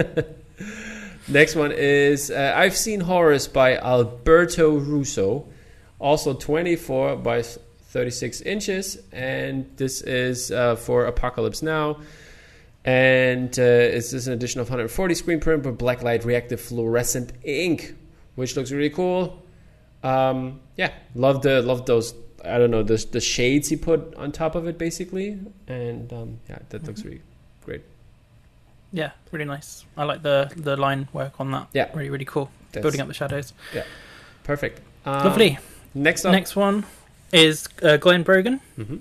Next one is uh, I've Seen Horrors by Alberto Russo, also twenty-four by thirty-six inches, and this is uh, for Apocalypse Now. And uh, it's just an edition of one hundred forty screen print with blacklight reactive fluorescent ink, which looks really cool. Um, yeah, love the love those. I don't know the the shades he put on top of it, basically, and um, yeah, that looks really great. yeah, really nice. I like the the line work on that. Yeah. really really cool. That's Building up the shadows. perfect. Um, Lovely. Next up, Next one is uh, Glenn Brogan. Mhm.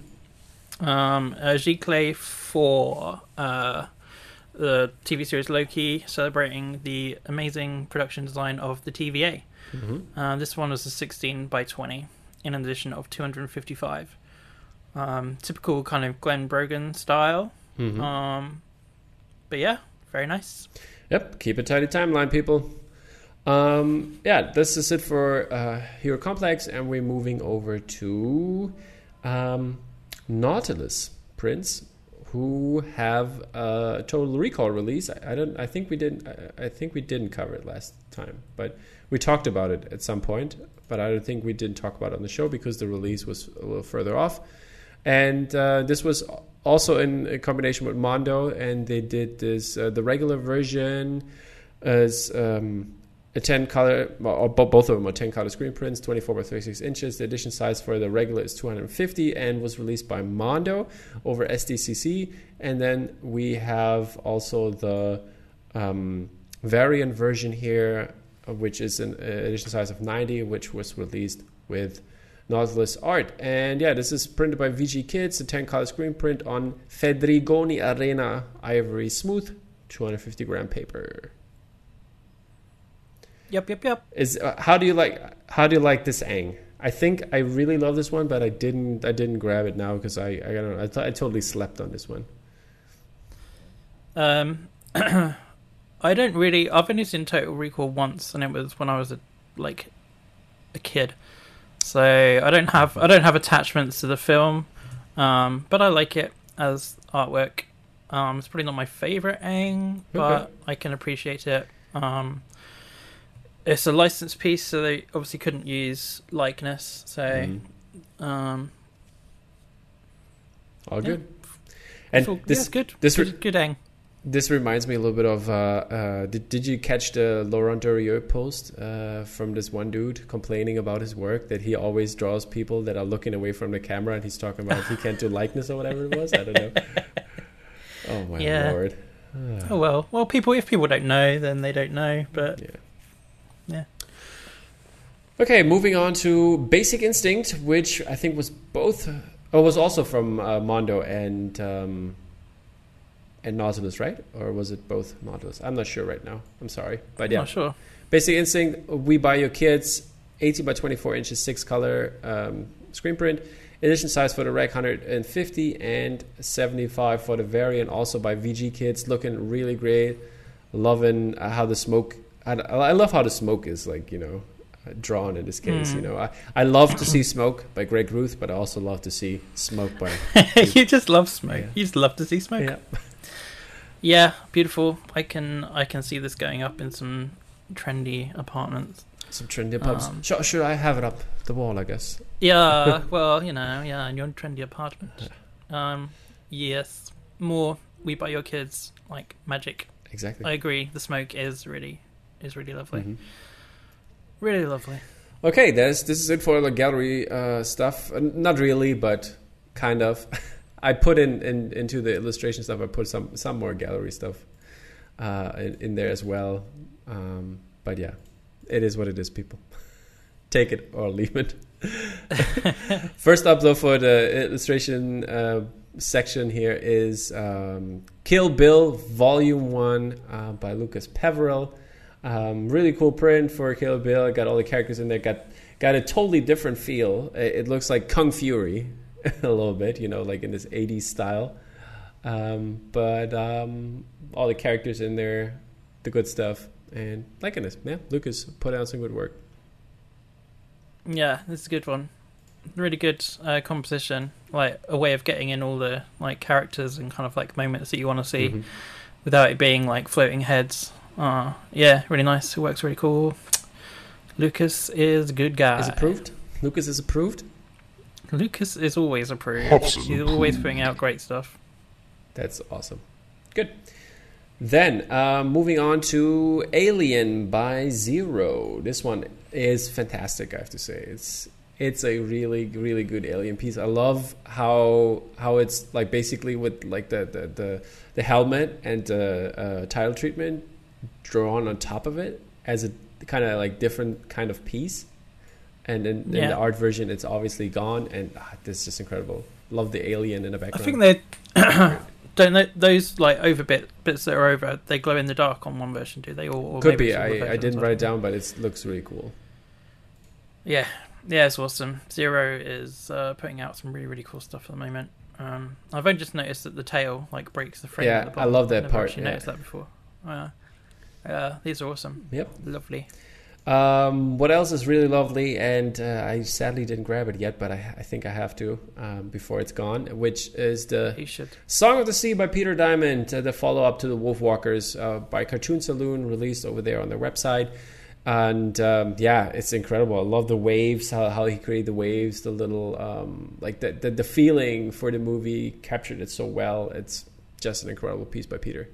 Um, uh, Giclée for uh, the T V series Loki, celebrating the amazing production design of the T V A. Mhm. Uh, this one was a sixteen by twenty in an edition of two hundred fifty-five. Um, typical kind of Glenn Brogan style. Mhm. Um, but yeah, very nice. Yep, keep a tidy timeline, people. Um, yeah, this is it for uh, Hero Complex, and we're moving over to um, Nautilus prints, who have a Total Recall release. I, I don't. I think we didn't. I, I think we didn't cover it last time, but we talked about it at some point. But I don't think we didn't talk about it on the show because the release was a little further off. And uh, this was also in a combination with Mondo, and they did this. Uh, the regular version is um, a ten color, or bo- both of them are ten color screen prints, twenty-four by thirty-six inches. The edition size for the regular is two hundred fifty, and was released by Mondo over S D C C. And then we have also the um, variant version here, uh, which is an uh, edition size of ninety, which was released with Nautilus art. And yeah, this is printed by V G Kids, a ten color screen print on Fedrigoni Arena Ivory Smooth, two hundred fifty gram paper. Yep, yep, yep. Is uh, how do you like how do you like this Aang? I think I really love this one, but I didn't I didn't grab it now because I I don't know I, th- I totally slept on this one. Um, I don't really. I've only seen Total Recall once, and it was when I was a, like a kid. So I don't have I don't have attachments to the film, um, but I like it as artwork. Um, it's probably not my favorite Aang, but Okay. I can appreciate it. Um, it's a licensed piece, so they obviously couldn't use likeness. So, Mm. um, All Yeah. good. And so, this yeah, good. this re- good, good Aang. This reminds me a little bit of. Uh, uh, did Did you catch the Laurent Durieux post uh, from this one dude complaining about his work that he always draws people that are looking away from the camera, and he's talking about he can't do likeness or whatever it was. I don't know. Oh my Yeah. lord. Oh well, well, people. If people don't know, then they don't know. But Yeah. yeah. Okay, moving on to Basic Instinct, which I think was both. Oh, was also from uh, Mondo and. Um, And Nautilus, right? Or was it both Nautilus? I'm not sure right now. I'm sorry. But I'm yeah, not sure. Basic Instinct, We Buy Your Kids, eighteen by twenty-four inches, six color um, screen print. Edition size for the rec, one hundred fifty and seventy-five for the variant, also by V G Kids. Looking really great. Loving uh, how the smoke, I, I love how the smoke is like, you know, drawn in this case. Mm. You know, I, I love to see Smoke by Greg Ruth, but I also love to see Smoke by... You just love Smoke. Yeah. You just love to see Smoke. Yeah. Yeah, beautiful. I can I can see this going up in some trendy apartments. Some trendy pubs. Um, should, should I have it up the wall, I guess? Yeah, well, you know, yeah, in your trendy apartment. Um, yes, more We Buy Your Kids, like magic. Exactly. I agree. The smoke is really is really lovely. Mm-hmm. Really lovely. Okay, there's, this is it for the gallery uh, stuff. Uh, not really, but kind of. I put in, in into the illustration stuff, I put some, some more gallery stuff uh, in, in there as well. Um, but yeah. It is what it is, people. Take it or leave it. First up, though, for the illustration uh, section here is um, Kill Bill Volume one uh, by Lucas Peverell. Um, really cool print for Kill Bill. Got all the characters in there. Got got a totally different feel. It, it looks like Kung Fury a little bit, you know, like in this eighties style. Um, but um, all the characters in there, the good stuff. And liking this, yeah, Lucas put out some good work. Yeah, this is a good one. Really good uh, composition, like a way of getting in all the like characters and kind of like moments that you want to see, mm-hmm. without it being like floating heads. Uh, yeah, really nice. It works really cool. Lucas is a good guy. Is approved? Lucas is approved? Lucas is always approved. Absolutely. He's always putting out great stuff. That's awesome. Good. Then, uh, moving on to Alien by Zero. This one is fantastic, I have to say. It's it's a really, really good Alien piece. I love how how it's like basically with like the, the, the, the helmet and the uh, title treatment drawn on top of it as a kind of like different kind of piece. And in, yeah. in the art version, it's obviously gone. And ah, this is just incredible. Love the alien in the background. I think they... Don't they, those like over bit bits that are over, they glow in the dark on one version, do they? Or, or could be. I, I didn't write it down, but it looks really cool. Yeah, yeah, it's awesome. Zero is uh, putting out some really really cool stuff at the moment. Um, I've only just noticed that the tail like breaks the frame. Yeah, at the bottom. I love that I've part. Actually yeah. noticed that before. Uh, uh, these are awesome. Yep, lovely. Um, what else is really lovely, and uh, I sadly didn't grab it yet, but I, I think I have to um, before it's gone, which is the you should. Song of the Sea by Peter Diamond, uh, the follow-up to the Wolfwalkers uh, by Cartoon Saloon, released over there on their website. And um, yeah, it's incredible. I love the waves, how, how he created the waves, the little, um, like the, the, the feeling for the movie, captured it so well. It's just an incredible piece by Peter.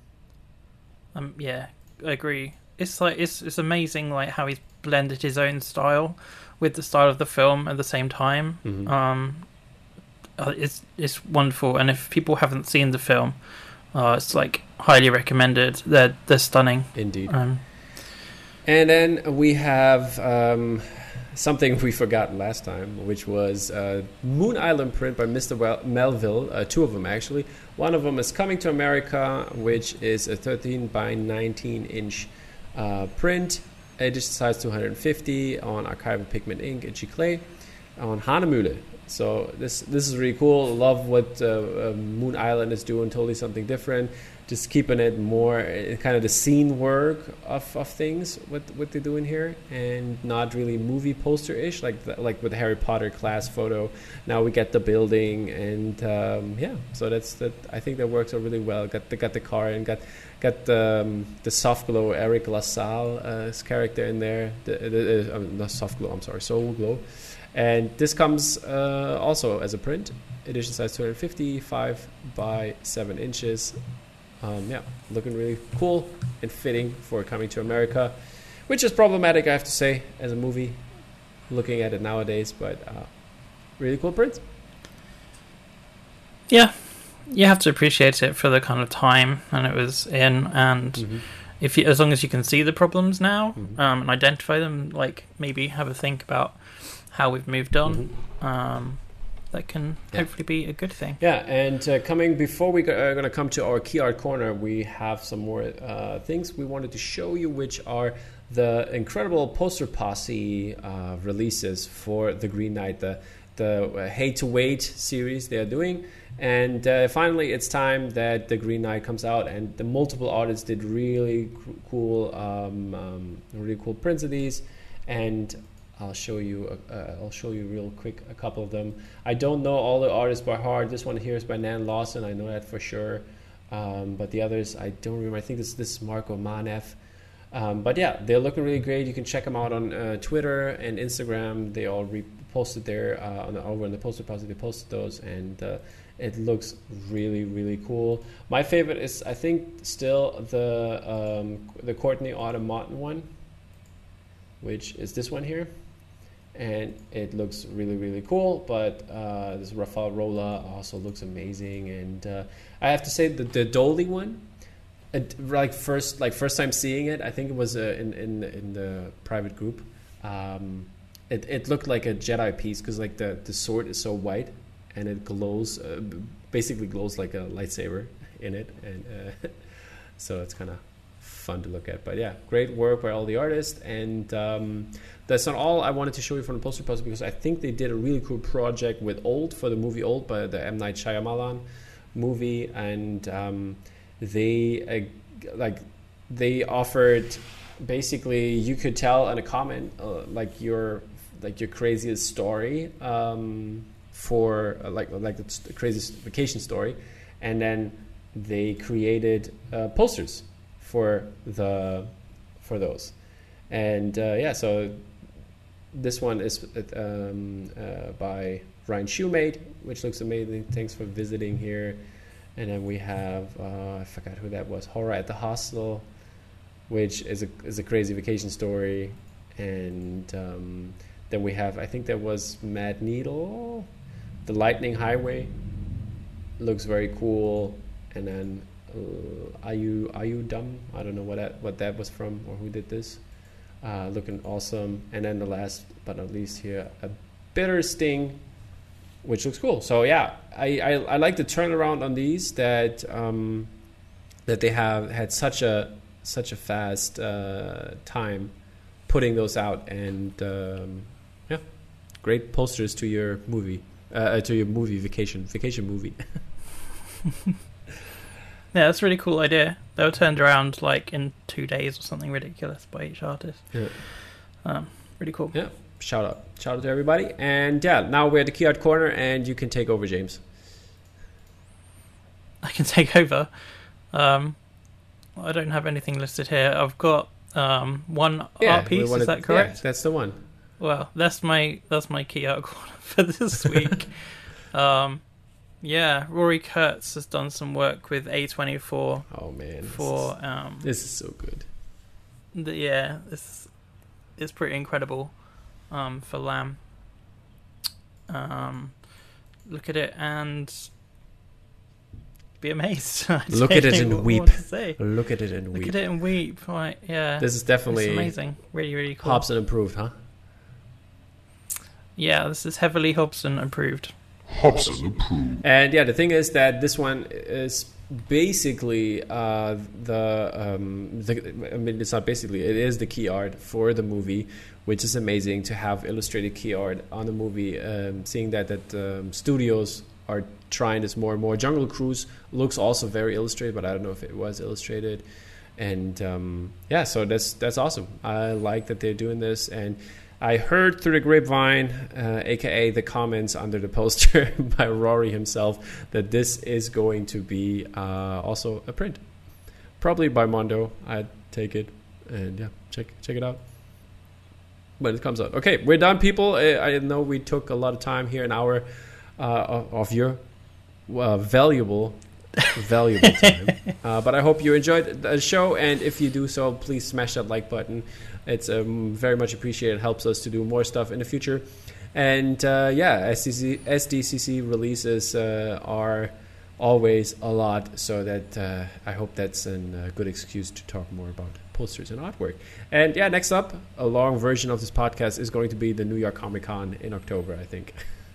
Um, yeah, I agree. It's like it's it's amazing like how he's blended his own style with the style of the film at the same time. Mm-hmm. Um, uh, it's it's wonderful, and if people haven't seen the film, uh, it's like highly recommended. They're they're stunning. Indeed. Um, and then we have um, something we forgot last time, which was uh, Moon Island print by Mister Well- Melville. Uh, two of them actually. One of them is Coming to America, which is a thirteen by nineteen inch. Uh, print, edition size two hundred fifty on Archival Pigment Ink and Chiclée on Hanemühle. So this this is really cool. Love what uh, uh, Moon Island is doing. Totally something different. Just keeping it more uh, kind of the scene work of, of things. What what they're doing here, and not really movie poster ish like the, like with the Harry Potter class photo. Now we get the building, and um, yeah. So that's that. I think that works out really well. Got the got the car and got. Got the, um, the soft glow Eric LaSalle uh, his character in there. The, the, uh, not soft glow, I'm sorry, soul glow. And this comes uh, also as a print. Edition size two hundred fifty, five by seven inches. Um, yeah, looking really cool and fitting for Coming to America, which is problematic, I have to say, as a movie. Looking at it nowadays, but uh, really cool print. Yeah. You have to appreciate it for the kind of time and it was in, and mm-hmm. if you, as long as you can see the problems now mm-hmm. um, and identify them, like maybe have a think about how we've moved on. Mm-hmm. Um, that can yeah. hopefully be a good thing. Yeah, and uh, coming before we are going to come to our key art corner, we have some more uh, things we wanted to show you, which are the incredible Poster Posse uh, releases for the Green Knight, the the Hate to Wait series they are doing. And uh, finally, it's time that the Green Knight comes out, and the multiple artists did really cool, um, um, really cool prints of these. And I'll show you. Uh, I'll show you real quick a couple of them. I don't know all the artists by heart. This one here is by Nan Lawson. I know that for sure. Um, but the others, I don't remember. I think this this is Marco Manev. Um, but yeah, they're looking really great. You can check them out on uh, Twitter and Instagram. They all reposted there uh, on the, over in the Poster Posse. They posted those, and uh, it looks really, really cool. My favorite is, I think, still the um, the Courtney Autumn Martin one, which is this one here, and it looks really, really cool. But uh, this Rafael Rola also looks amazing, and uh, I have to say that the Dolly one. It, like first, like first time seeing it, I think it was uh, in in in the private group. Um, it it looked like a Jedi piece because like the, the sword is so white and it glows, uh, basically glows like a lightsaber in it, and uh, so it's kind of fun to look at. But yeah, great work by all the artists, and um, that's not all I wanted to show you from the Poster Posse because I think they did a really cool project with Old for the movie Old by the M. Night Shyamalan movie, and. Um, they uh, like they offered basically you could tell in a comment uh, like your like your craziest story um, for uh, like like the craziest vacation story, and then they created uh, posters for the for those, and uh, yeah, so this one is um, uh, by Ryan Shoemate, which looks amazing. Thanks for visiting here. And then we have, uh, I forgot who that was, Horror at the Hostel, which is a is a crazy vacation story. And um, then we have, I think that was Mad Needle, The Lightning Highway, looks very cool. And then uh, Are You Are You Dumb? I don't know what that what that was from or who did this. Uh, looking awesome. And then the last but not least here, A Bitter Sting, which looks cool. So yeah, I, I, I like the turnaround on these that um, that they have had such a such a fast uh, time putting those out, and um, yeah, great posters to your movie uh, to your movie vacation vacation movie. Yeah, that's a really cool idea. They were turned around like in two days or something ridiculous by each artist. Yeah, um, really cool. Yeah. Shout out. Shout out to everybody. And yeah, now we're at the Key Art Corner, and you can take over, James. I can take over. Um, I don't have anything listed here. I've got um, one yeah, art piece, wanted, is that correct? Yeah, that's the one. Well, that's my that's my Key Art Corner for this week. um, yeah, Rory Kurtz has done some work with A twenty-four. Oh, man. For this is, um, this is so good. The, yeah, this is pretty incredible. Um, for Lamb. Um, look at it and be amazed. Look at it and weep. Look at it and weep. Look at it and weep. Right, yeah. This is definitely it's amazing. Really, really cool. Hobson approved, huh? Yeah, this is heavily Hobson approved. Hobson approved. And yeah, the thing is that this one is basically uh, the, um, the. I mean, it's not basically. It is the key art for the movie, which is amazing to have illustrated key art on the movie. Um, seeing that that um, studios are trying this more and more. Jungle Cruise looks also very illustrated, but I don't know if it was illustrated. And um, yeah, so that's that's awesome. I like that they're doing this, and I heard through the grapevine, uh, aka the comments under the poster by Rory himself, that this is going to be uh, also a print, probably by Mondo. I'd take it, and yeah, check check it out when it comes out. Okay, we're done, people. I, I know we took a lot of time here, an hour uh, of your uh, valuable. valuable time uh, but I hope you enjoyed the show, and if you do so, please smash that like button. It's um, very much appreciated. It helps us to do more stuff in the future. And uh, yeah, S D C C releases uh, are always a lot, so that uh, I hope that's a uh, good excuse to talk more about posters and artwork. And yeah, next up, a long version of this podcast is going to be the New York Comic Con in October, I think.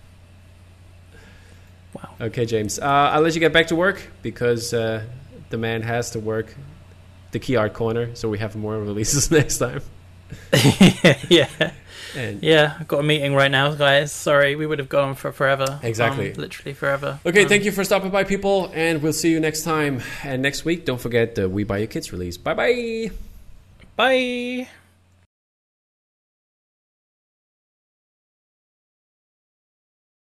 Wow. Okay, James. Uh, I'll let you get back to work, because uh, the man has to work the Key Art Corner, so we have more releases next time. yeah. And yeah, I've got a meeting right now, guys. Sorry, we would have gone on for forever. Exactly. Um, literally forever. Okay, um, thank you for stopping by, people, and we'll see you next time. And next week, don't forget the We Buy Your Kids release. Bye-bye. Bye.